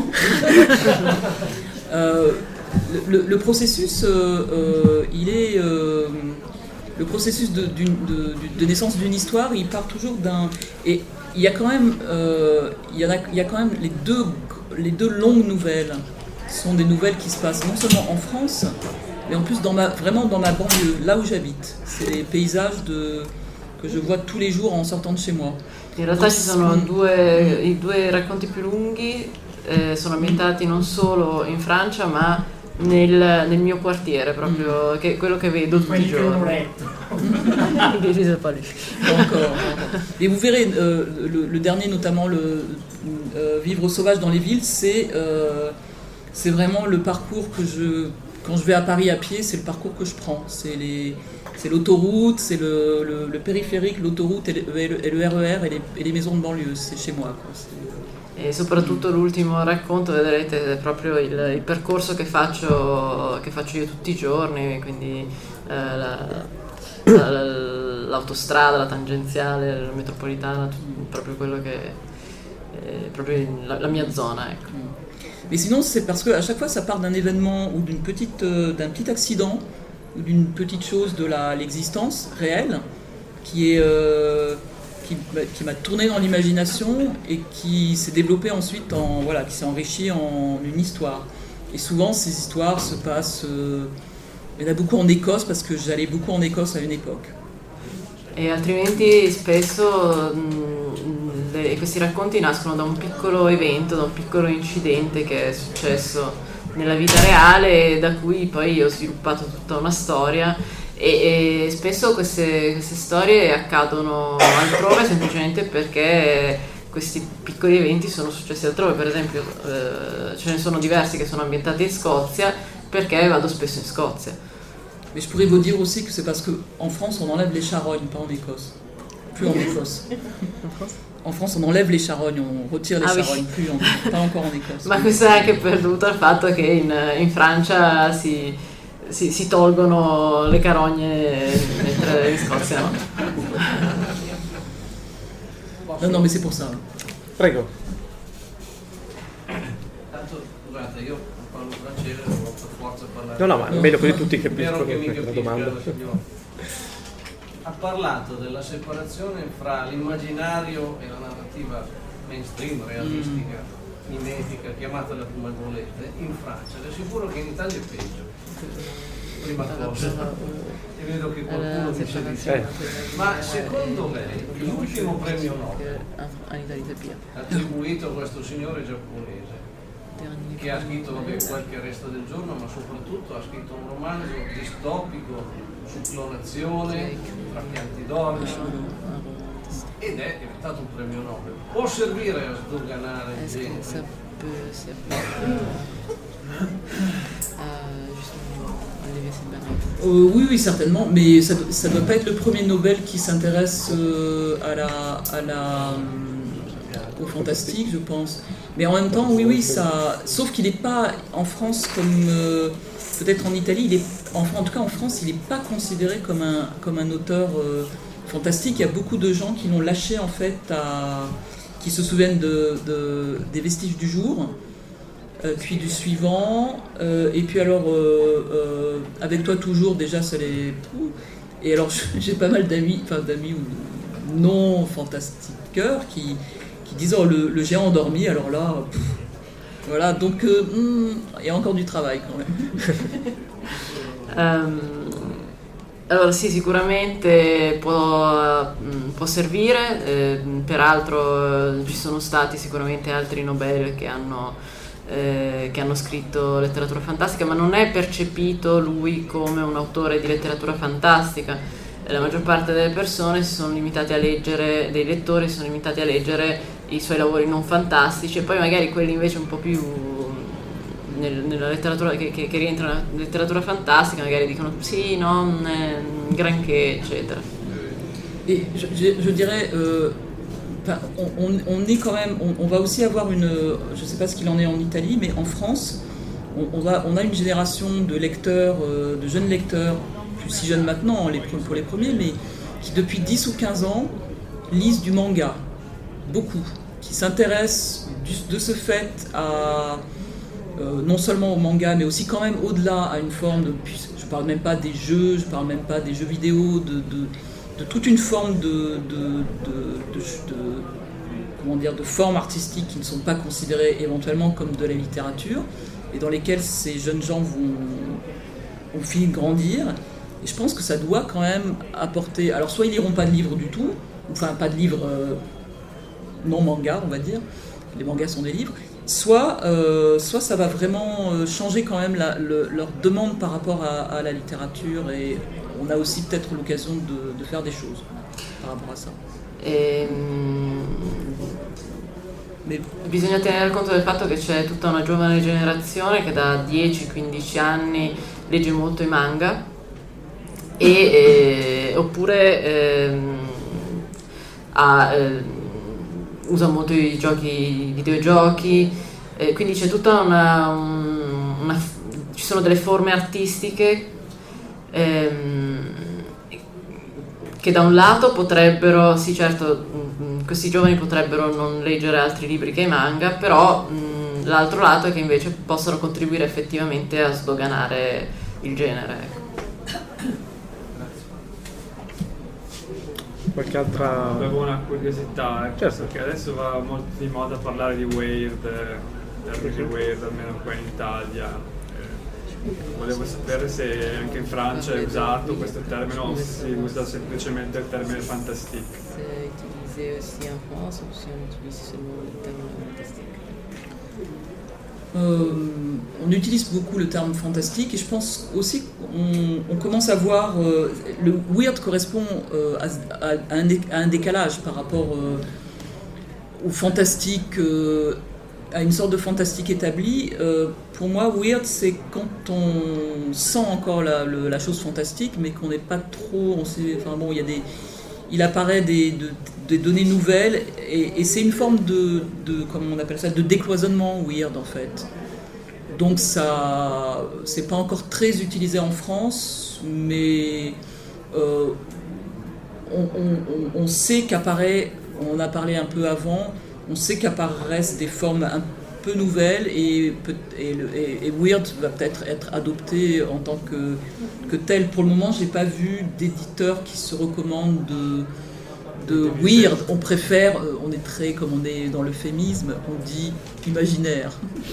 Le processus, il est le processus de naissance d'une histoire. Il part toujours d'un, et il y a quand même, il y a quand même les deux longues nouvelles sont des nouvelles qui se passent non seulement en France, mais en plus vraiment dans ma banlieue, là où j'habite. C'est les paysages que je vois tous les jours en sortant de chez moi. In realtà ci sono i due racconti più lunghi, sono ambientati non solo in Francia ma nel mio quartiere, proprio, che è quello che vedo tutti i giorni. Et vous verrez, le dernier, notamment le Vivre sauvage dans les villes, c'est vraiment le parcours quand je vais à Paris à pied, c'est le parcours que je prends. C'est l'autoroute, c'est le périphérique, l'autoroute et le RER et les maisons de banlieue, c'est chez moi, quoi. E soprattutto l'ultimo racconto, vedrete, è proprio il percorso che faccio io tutti i giorni, quindi l'autostrada, la tangenziale, la metropolitana, proprio quello che è proprio la mia zona, ecco. Mais sinon, c'est parce que à chaque fois, ça part d'un événement ou d'un petit accident ou d'une petite chose de l'existence réelle qui m'a tourné dans l'imagination et qui s'est développé ensuite qui s'est enrichi en une histoire. Et souvent, ces histoires se passent. Il y en a beaucoup en Écosse parce que j'allais beaucoup en Écosse à une époque. E altrimenti spesso questi racconti nascono da un piccolo evento, da un piccolo incidente che è successo nella vita reale, da cui poi ho sviluppato tutta una storia, e spesso queste storie accadono altrove semplicemente perché questi piccoli eventi sono successi altrove. Per esempio ce ne sono diversi che sono ambientati in Scozia perché vado spesso in Scozia. Mais je pourrais vous dire aussi que c'est parce qu'en France, on enlève les charognes, pas en Écosse. Plus en Écosse. En France, on enlève les charognes, on retire les charognes, oui. Pas encore en Écosse. Ma questo è anche dovuto al fatto che in Francia si tolgono le carogne, mentre in Scozia no. Non, mais c'est pour ça. Prego. Tanto, scusate, io parlo francese, non ho per forza parlare. No, ma è meglio così tutti Spero che mi la capisca domanda. la signora. Ha parlato della separazione fra l'immaginario e la narrativa mainstream, realistica, mimetica, chiamatela come volete, in Francia. Le assicuro che in Italia è peggio. Prima cosa. E vedo che qualcuno dice di sì. Ma secondo lei l'ultimo premio Nobel attribuito a questo signore giapponese, che ha scritto qualche Resto del giorno, ma soprattutto ha scritto un romanzo distopico su clonazione, tra pianti d'orme, ed è diventato un premio Nobel. Può servire a sdoganare il genere? Oui, certainement, mais ça doit pas être le premier Nobel qui s'intéresse au fantastique, je pense. Mais en même temps, oui, ça. Sauf qu'il n'est pas en France comme peut-être en Italie. En tout cas, en France, il n'est pas considéré comme un auteur fantastique. Il y a beaucoup de gens qui l'ont lâché en fait, qui se souviennent des Vestiges du jour. Puis du suivant, et puis alors Avec toi toujours, déjà ça les... Et alors j'ai pas mal d'amis ou non fantastiqueurs qui disent le géant endormi, alors là Voilà, donc il y a encore du travail quand même. Allora sì, sicuramente può servire, peraltro ci sono stati sicuramente altri Nobel che hanno scritto letteratura fantastica, ma non è percepito lui come un autore di letteratura fantastica. La maggior parte delle persone dei lettori si sono limitati a leggere i suoi lavori non fantastici, e poi magari quelli invece un po' più nella letteratura che rientrano nella letteratura fantastica magari dicono sì, non granché, eccetera. Et je dirais, on est quand même, on va aussi avoir je ne sais pas ce qu'il en est en Italie, mais en France, on a une génération de lecteurs, de jeunes lecteurs, plus si jeunes maintenant pour les premiers, mais qui depuis 10 ou 15 ans lisent du manga, beaucoup, qui s'intéressent de ce fait à non seulement au manga, mais aussi quand même au-delà à une forme de... Je ne parle même pas des jeux, je ne parle même pas des jeux vidéo, de toute une forme de formes artistiques qui ne sont pas considérées éventuellement comme de la littérature, et dans lesquelles ces jeunes gens ont fini de grandir. Et je pense que ça doit quand même apporter... Alors soit ils liront pas de livres du tout, enfin pas de livres non manga, on va dire, les mangas sont des livres, soit ça va vraiment changer quand même leur demande par rapport à la littérature, et on a aussi peut-être l'occasion de faire des choses par rapport à ça. Bisogna tenere conto del fatto che c'è tutta una giovane generazione che da 10-15 anni legge molto i manga oppure usa molto i videogiochi, quindi c'è tutta ci sono delle forme artistiche che da un lato potrebbero, sì certo, questi giovani potrebbero non leggere altri libri che i manga, però l'altro lato è che invece possono contribuire effettivamente a sdoganare il genere. Qualche altra... Avevo una curiosità, certo, perché adesso va molto di moda parlare di weird, termine weird, almeno qua in Italia. Volevo sapere se anche in Francia è usato questo termine o si usa semplicemente il termine fantastique. C'est utilisé aussi en France ou si on utilise seulement le terme fantastique? On utilise beaucoup le terme fantastique, et je pense aussi qu'on commence à voir le weird correspond à un décalage par rapport au fantastique, à une sorte de fantastique établie. Pour moi, weird, c'est quand on sent encore la chose fantastique, mais qu'on n'est pas trop... il apparaît des données nouvelles, et c'est une forme de comment on appelle ça, de décloisonnement weird en fait. Donc ça, c'est pas encore très utilisé en France, mais on sait qu'apparaît, on a parlé un peu avant, on sait qu'apparaissent des formes un peu nouvelles, et weird va peut-être être adopté en tant que tel. Pour le moment, j'ai pas vu d'éditeur qui se recommande de weird. On préfère, on est très, comme on est dans l'euphémisme, on dit imaginaire.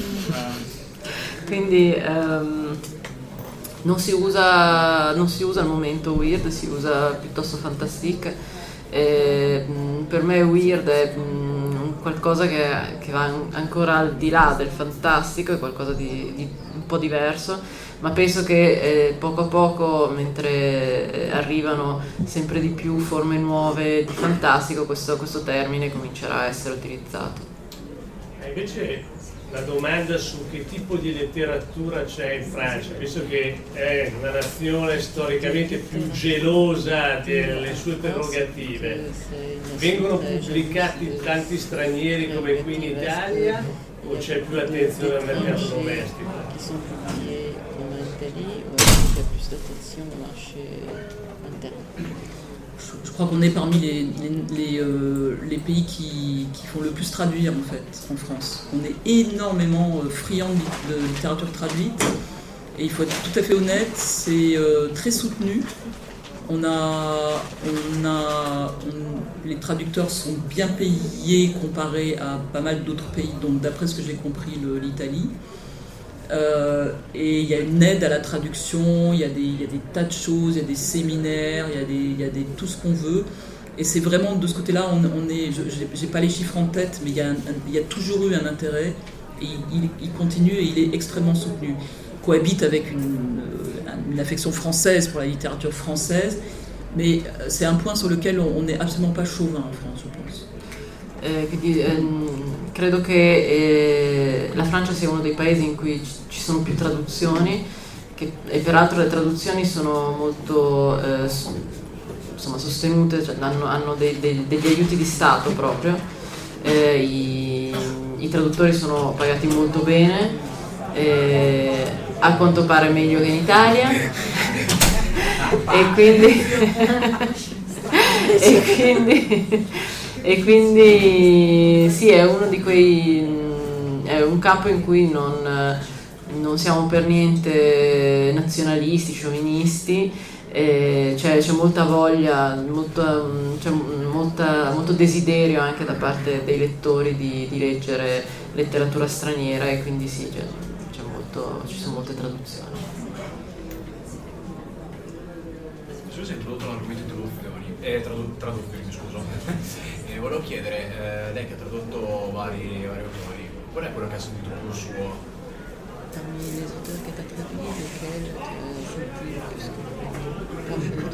Quindi non si usa al momento weird, si usa piuttosto fantastique. Per me weird è qualcosa che va ancora al di là del fantastico, è qualcosa di un po' diverso, ma penso che poco a poco, mentre arrivano sempre di più forme nuove di fantastico, questo termine comincerà a essere utilizzato. Invece la domanda su che tipo di letteratura c'è in Francia, visto che è una nazione storicamente più gelosa delle sue prerogative, vengono pubblicati tanti stranieri come qui in Italia o c'è più attenzione al mercato domestico? Je crois qu'on est parmi les pays qui font le plus traduire en fait en France. On est énormément friand de littérature traduite, et il faut être tout à fait honnête, c'est très soutenu les traducteurs sont bien payés comparé à pas mal d'autres pays, donc d'après ce que j'ai compris, l'Italie. Et il y a une aide à la traduction, il y a des tas de choses, il y a des séminaires, il y a tout ce qu'on veut. Et c'est vraiment de ce côté-là, j'ai pas les chiffres en tête, mais il y a toujours eu un intérêt, et il continue et il est extrêmement soutenu. Il cohabite avec une affection française pour la littérature française, mais c'est un point sur lequel on n'est absolument pas chauvin en France, je pense. Quindi credo che la Francia sia uno dei paesi in cui ci sono più traduzioni, e peraltro le traduzioni sono molto sostenute, cioè hanno degli aiuti di Stato proprio, i traduttori sono pagati molto bene, a quanto pare meglio che in Italia, e quindi sì, è uno di è un campo in cui non siamo per niente nazionalisti, sciovinisti, c'è molta voglia, molto desiderio anche da parte dei lettori di leggere letteratura straniera, e quindi sì, ci sono molte traduzioni. Scusa, hai introdotto l'argomento traduzioni, scusa. Volevo chiedere, lei che ha tradotto vari autori, qual è quello che ha sentito più suo? Parmi les auteurs que tu as traduits, lesquels tu as senti le plus proche de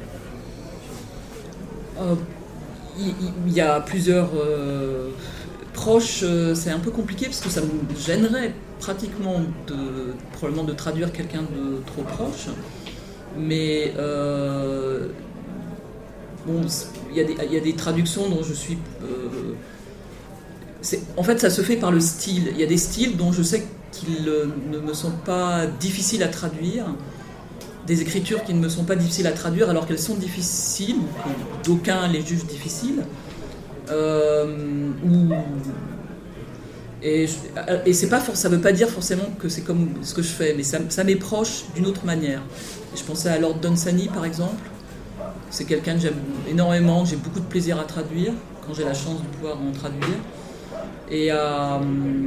toi? Il y a plusieurs proches, c'est un peu compliqué parce que ça me gênerait pratiquement probablement de traduire quelqu'un de trop proche, mais bon, il y a des traductions dont je suis... en fait, ça se fait par le style. Il y a des styles dont je sais qu'ils ne me sont pas difficiles à traduire, des écritures qui ne me sont pas difficiles à traduire alors qu'elles sont difficiles, d'aucuns les jugent difficiles. Et ça ne veut pas dire forcément que c'est comme ce que je fais, mais ça m'est proche d'une autre manière. Et je pensais à Lord Dunsany par exemple. C'est quelqu'un que j'aime énormément, que j'ai beaucoup de plaisir à traduire, quand j'ai la chance de pouvoir en traduire. Et à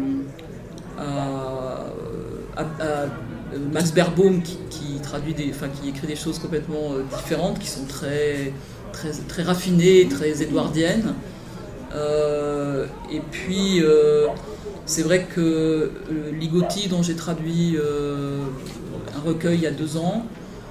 Max Beerbohm qui écrit des choses complètement différentes, qui sont très, très, très raffinées, très édouardiennes. Et puis c'est vrai que Ligotti, dont j'ai traduit un recueil il y a 2 ans,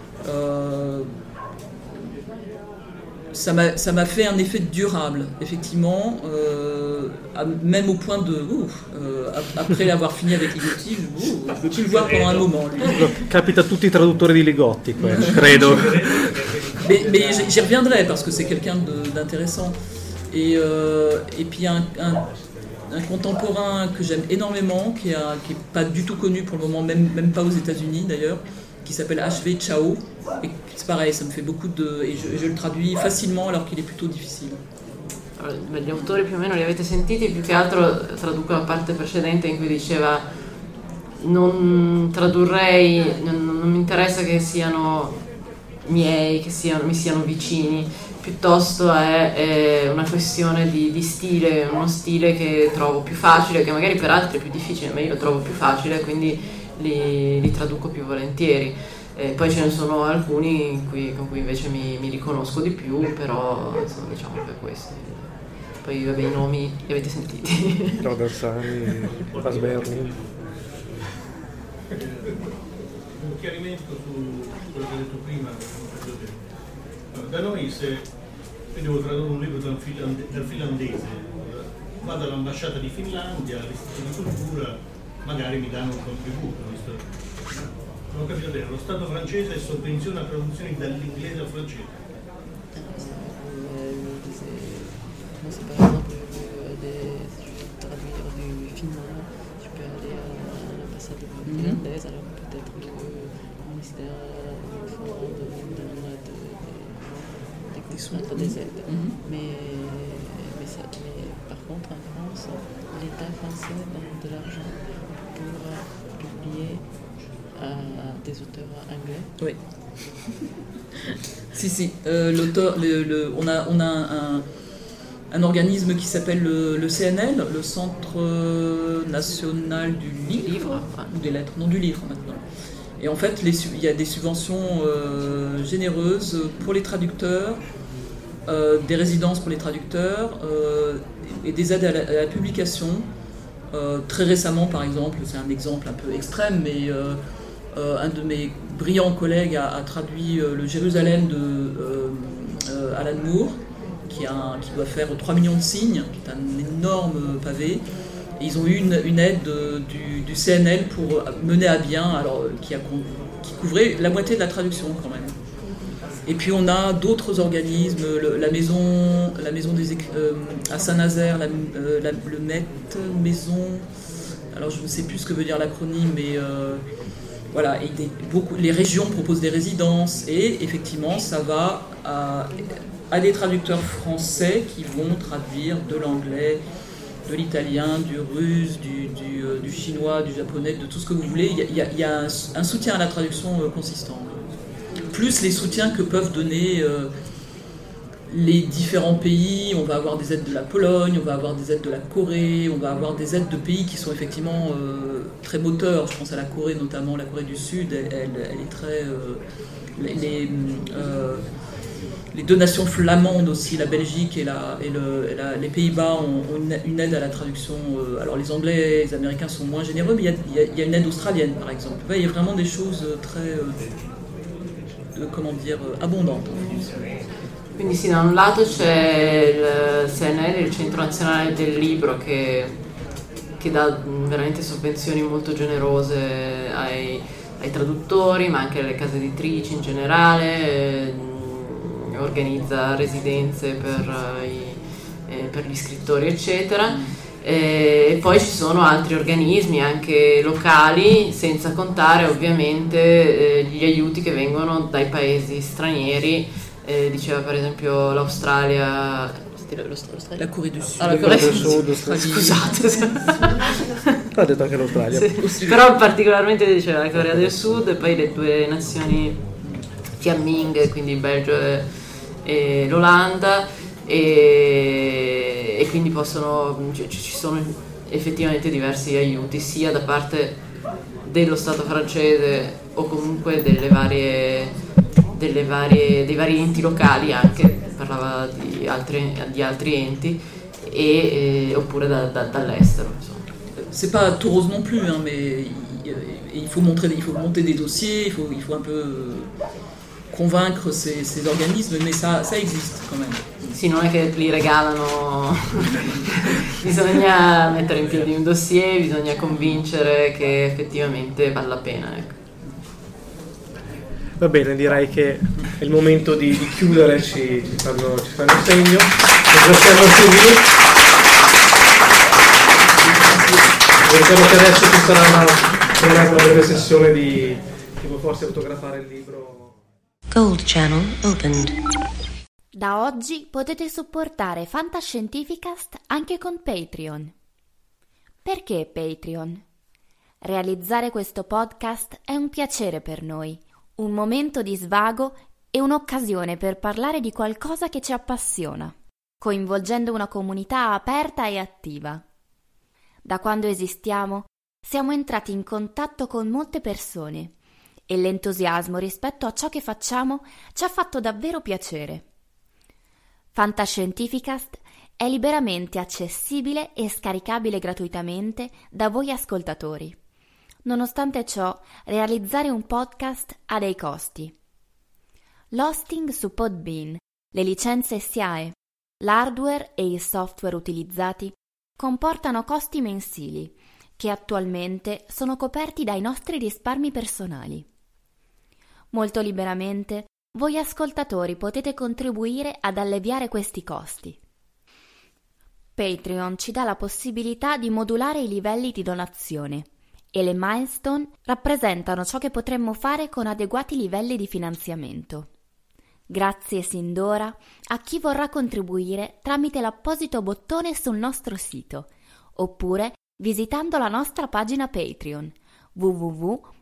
ça m'a fait un effet durable, effectivement, même au point de... après l'avoir fini avec Ligotti, je ne peux plus le voir pendant un moment. Lui. Capita a tutti i traduttori di Ligotti, credo. Mais j'y reviendrai, parce que c'est quelqu'un d'intéressant. Et puis un contemporain que j'aime énormément, qui est pas du tout connu pour le moment, même pas aux États-Unis d'ailleurs, qui s'appelle H.V. Chao, et c'est pareil, ça me fait beaucoup et je le traduis facilement alors qu'il est plutôt difficile. Allora, gli autori più o meno li avete sentiti, più che altro traduco la parte precedente in cui diceva non tradurrei, non mi interessa che siano miei, mi siano vicini, piuttosto è una questione di stile, uno stile che trovo più facile, che magari per altri è più difficile, ma io lo trovo più facile, quindi li traduco più volentieri. Poi ce ne sono alcuni con cui invece mi riconosco di più, però insomma, diciamo che questi. Poi vabbè, i nomi li avete sentiti. Rodersani, Pasberni. Un chiarimento su quello che hai detto prima. Da noi se devo tradurre un libro dal finlandese, vado all'ambasciata di Finlandia, all'Istituto di Cultura, magari mi danno un contributo. Non ho capito bene, lo Stato francese sovvenziona traduzioni dall'inglese al francese. C'est par exemple traduire du finnois, je peux aller à l'ambassade finlandaise, alors peut-être que le ministère donne des aides. Mais par contre en France, l'État français donne de l'argent pour publier à des des auteurs anglais? Oui. si. L'auteur, on a un organisme qui s'appelle le CNL, le Centre National du Livre, ou des Lettres, non, du Livre maintenant. Et en fait, il y a des subventions généreuses pour les traducteurs, des résidences pour les traducteurs et des aides à la publication. Très récemment, par exemple, c'est un exemple un peu extrême, mais un de mes brillants collègues a traduit le Jérusalem de Alan Moore, qui doit faire 3 millions de signes, qui est un énorme pavé. Et ils ont eu une aide du CNL pour mener à bien, alors qui couvrait la moitié de la traduction quand même. Et puis on a d'autres organismes, la maison à Saint-Nazaire, le Met Maison, alors je ne sais plus ce que veut dire l'acronyme, mais voilà, et les régions proposent des résidences, et effectivement ça va à des traducteurs français qui vont traduire de l'anglais, de l'italien, du russe, du chinois, du japonais, de tout ce que vous voulez. Il y a un soutien à la traduction consistant. Plus les soutiens que peuvent donner les différents pays. On va avoir des aides de la Pologne, on va avoir des aides de la Corée, on va avoir des aides de pays qui sont effectivement très moteurs. Je pense à la Corée notamment, la Corée du Sud, elle est très... les deux nations flamandes aussi, la Belgique et les Pays-Bas ont une aide à la traduction. Alors les Anglais et les Américains sont moins généreux, mais il y a une aide australienne par exemple. Il y a vraiment des choses très... abbondanti. Quindi sì, da un lato c'è il CNL, il Centro Nazionale del Libro, che dà veramente sovvenzioni molto generose ai traduttori, ma anche alle case editrici in generale, organizza residenze per gli scrittori eccetera. E poi ci sono altri organismi anche locali, senza contare ovviamente gli aiuti che vengono dai paesi stranieri, diceva per esempio l'Australia, la Corea del Sud, la Corea del Sud, scusate, ha detto anche l'Australia, sì. Però particolarmente diceva la Corea del Sud, e poi le due nazioni fiamminghe, quindi il Belgio e l'Olanda. E quindi ci sono effettivamente diversi aiuti sia da parte dello Stato francese o comunque dei vari enti locali, anche parlava di altri enti, oppure dall'estero, insomma. C'est pas tout rose non plus, hein, mais il faut monter des dossiers, il faut un peu convaincre ces organismes, mais ça existe quand même. Sì, non è che li regalano, bisogna mettere in piedi un dossier, bisogna convincere che effettivamente vale la pena, ecco. Va bene, direi che è il momento di chiudere, ci fanno segno. Ringraziamo Silvio. Ricordo che adesso ci sarà una breve sessione di forse fotografare il libro. Gold Channel opened. Da oggi potete supportare Fantascientificast anche con Patreon. Perché Patreon? Realizzare questo podcast è un piacere per noi, un momento di svago e un'occasione per parlare di qualcosa che ci appassiona, coinvolgendo una comunità aperta e attiva. Da quando esistiamo, siamo entrati in contatto con molte persone e l'entusiasmo rispetto a ciò che facciamo ci ha fatto davvero piacere. Fantascientificast è liberamente accessibile e scaricabile gratuitamente da voi ascoltatori. Nonostante ciò, realizzare un podcast ha dei costi. L'hosting su Podbean, le licenze SIAE, l'hardware e il software utilizzati comportano costi mensili che attualmente sono coperti dai nostri risparmi personali. Molto liberamente voi ascoltatori potete contribuire ad alleviare questi costi. Patreon ci dà la possibilità di modulare i livelli di donazione e le milestone rappresentano ciò che potremmo fare con adeguati livelli di finanziamento. Grazie sin d'ora a chi vorrà contribuire tramite l'apposito bottone sul nostro sito oppure visitando la nostra pagina Patreon www.patreon.com/fantascientificast.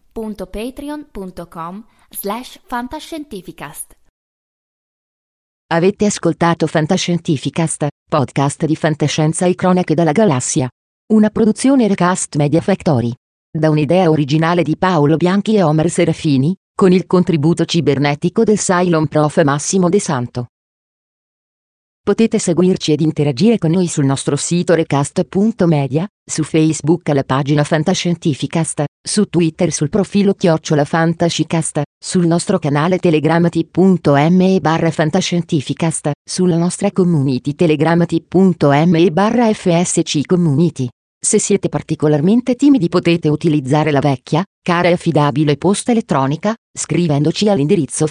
www.patreon.com/fantascientificast. Avete ascoltato Fantascientificast, podcast di fantascienza e cronache dalla galassia. Una produzione Recast Media Factory. Da un'idea originale di Paolo Bianchi e Omer Serafini, con il contributo cibernetico del Cylon Prof. Massimo De Santo. Potete seguirci ed interagire con noi sul nostro sito recast.media, su Facebook alla pagina Fantascientificast, su Twitter sul profilo @Fantascicast, sul nostro canale Telegram t.me/Fantascientificast, sulla nostra community Telegram t.me/FSC Community. Se siete particolarmente timidi potete utilizzare la vecchia, cara e affidabile posta elettronica, scrivendoci all'indirizzo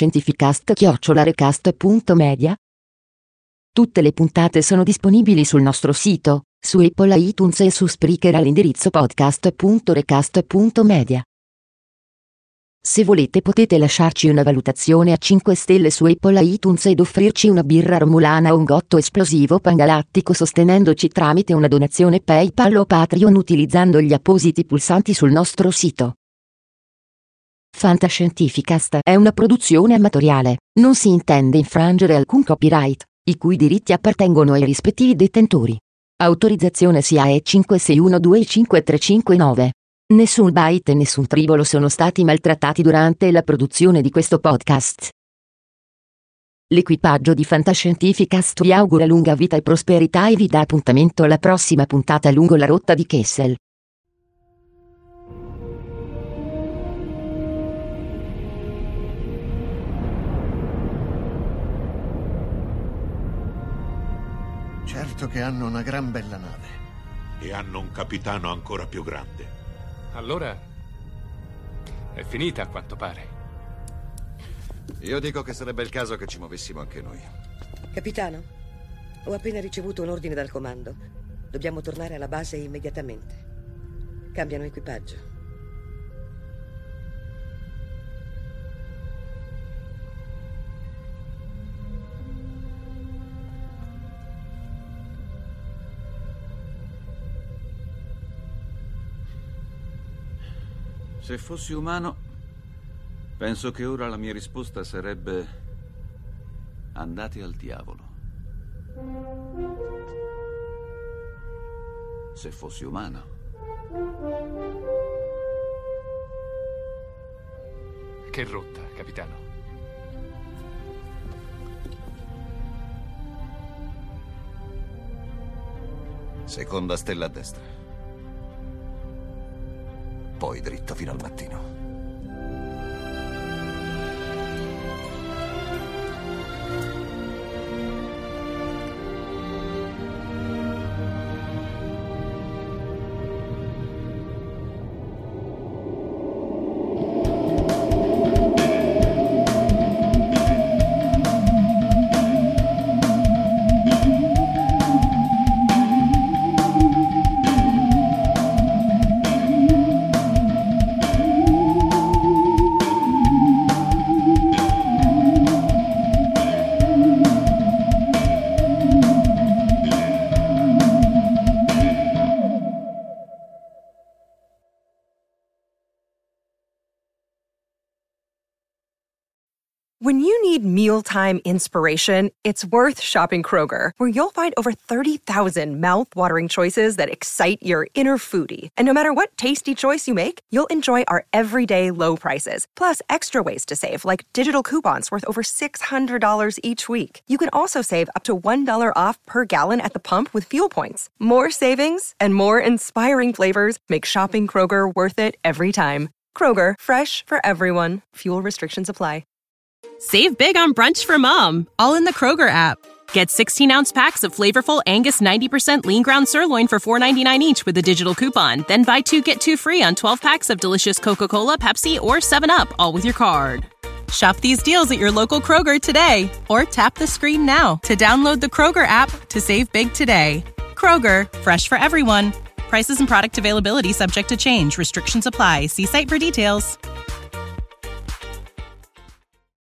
fantascientificast@recast.media. Tutte le puntate sono disponibili sul nostro sito, su Apple iTunes e su Spreaker all'indirizzo podcast.recast.media. Se volete potete lasciarci una valutazione a 5 stelle su Apple iTunes ed offrirci una birra romulana o un gotto esplosivo pangalattico sostenendoci tramite una donazione PayPal o Patreon utilizzando gli appositi pulsanti sul nostro sito. Fantascientificast è una produzione amatoriale, non si intende infrangere alcun copyright, i cui diritti appartengono ai rispettivi detentori. Autorizzazione SIAE 56125359. Nessun byte e nessun tribolo sono stati maltrattati durante la produzione di questo podcast. L'equipaggio di Fantascientificast vi augura lunga vita e prosperità e vi dà appuntamento alla prossima puntata lungo la rotta di Kessel. Certo che hanno una gran bella nave. E hanno un capitano ancora più grande. Allora è finita a quanto pare. Io dico che sarebbe il caso che ci muovessimo anche noi. Capitano, ho appena ricevuto un ordine dal comando. Dobbiamo tornare alla base immediatamente. Cambiano equipaggio. Se fossi umano, penso che ora la mia risposta sarebbe: andate al diavolo. Se fossi umano. Che rotta, capitano? Seconda stella a destra. Poi dritto fino al mattino. When you need mealtime inspiration, it's worth shopping Kroger, where you'll find over 30,000 mouth-watering choices that excite your inner foodie. And no matter what tasty choice you make, you'll enjoy our everyday low prices, plus extra ways to save, like digital coupons worth over $600 each week. You can also save up to $1 off per gallon at the pump with fuel points. More savings and more inspiring flavors make shopping Kroger worth it every time. Kroger, fresh for everyone. Fuel restrictions apply. Save big on brunch for mom, all in the Kroger app. Get 16-ounce packs of flavorful Angus 90% lean ground sirloin for $4.99 each with a digital coupon. Then buy 2, get 2 free on 12 packs of delicious Coca-Cola, Pepsi, or 7-Up, all with your card. Shop these deals at your local Kroger today, or tap the screen now to download the Kroger app to save big today. Kroger, fresh for everyone. Prices and product availability subject to change. Restrictions apply. See site for details.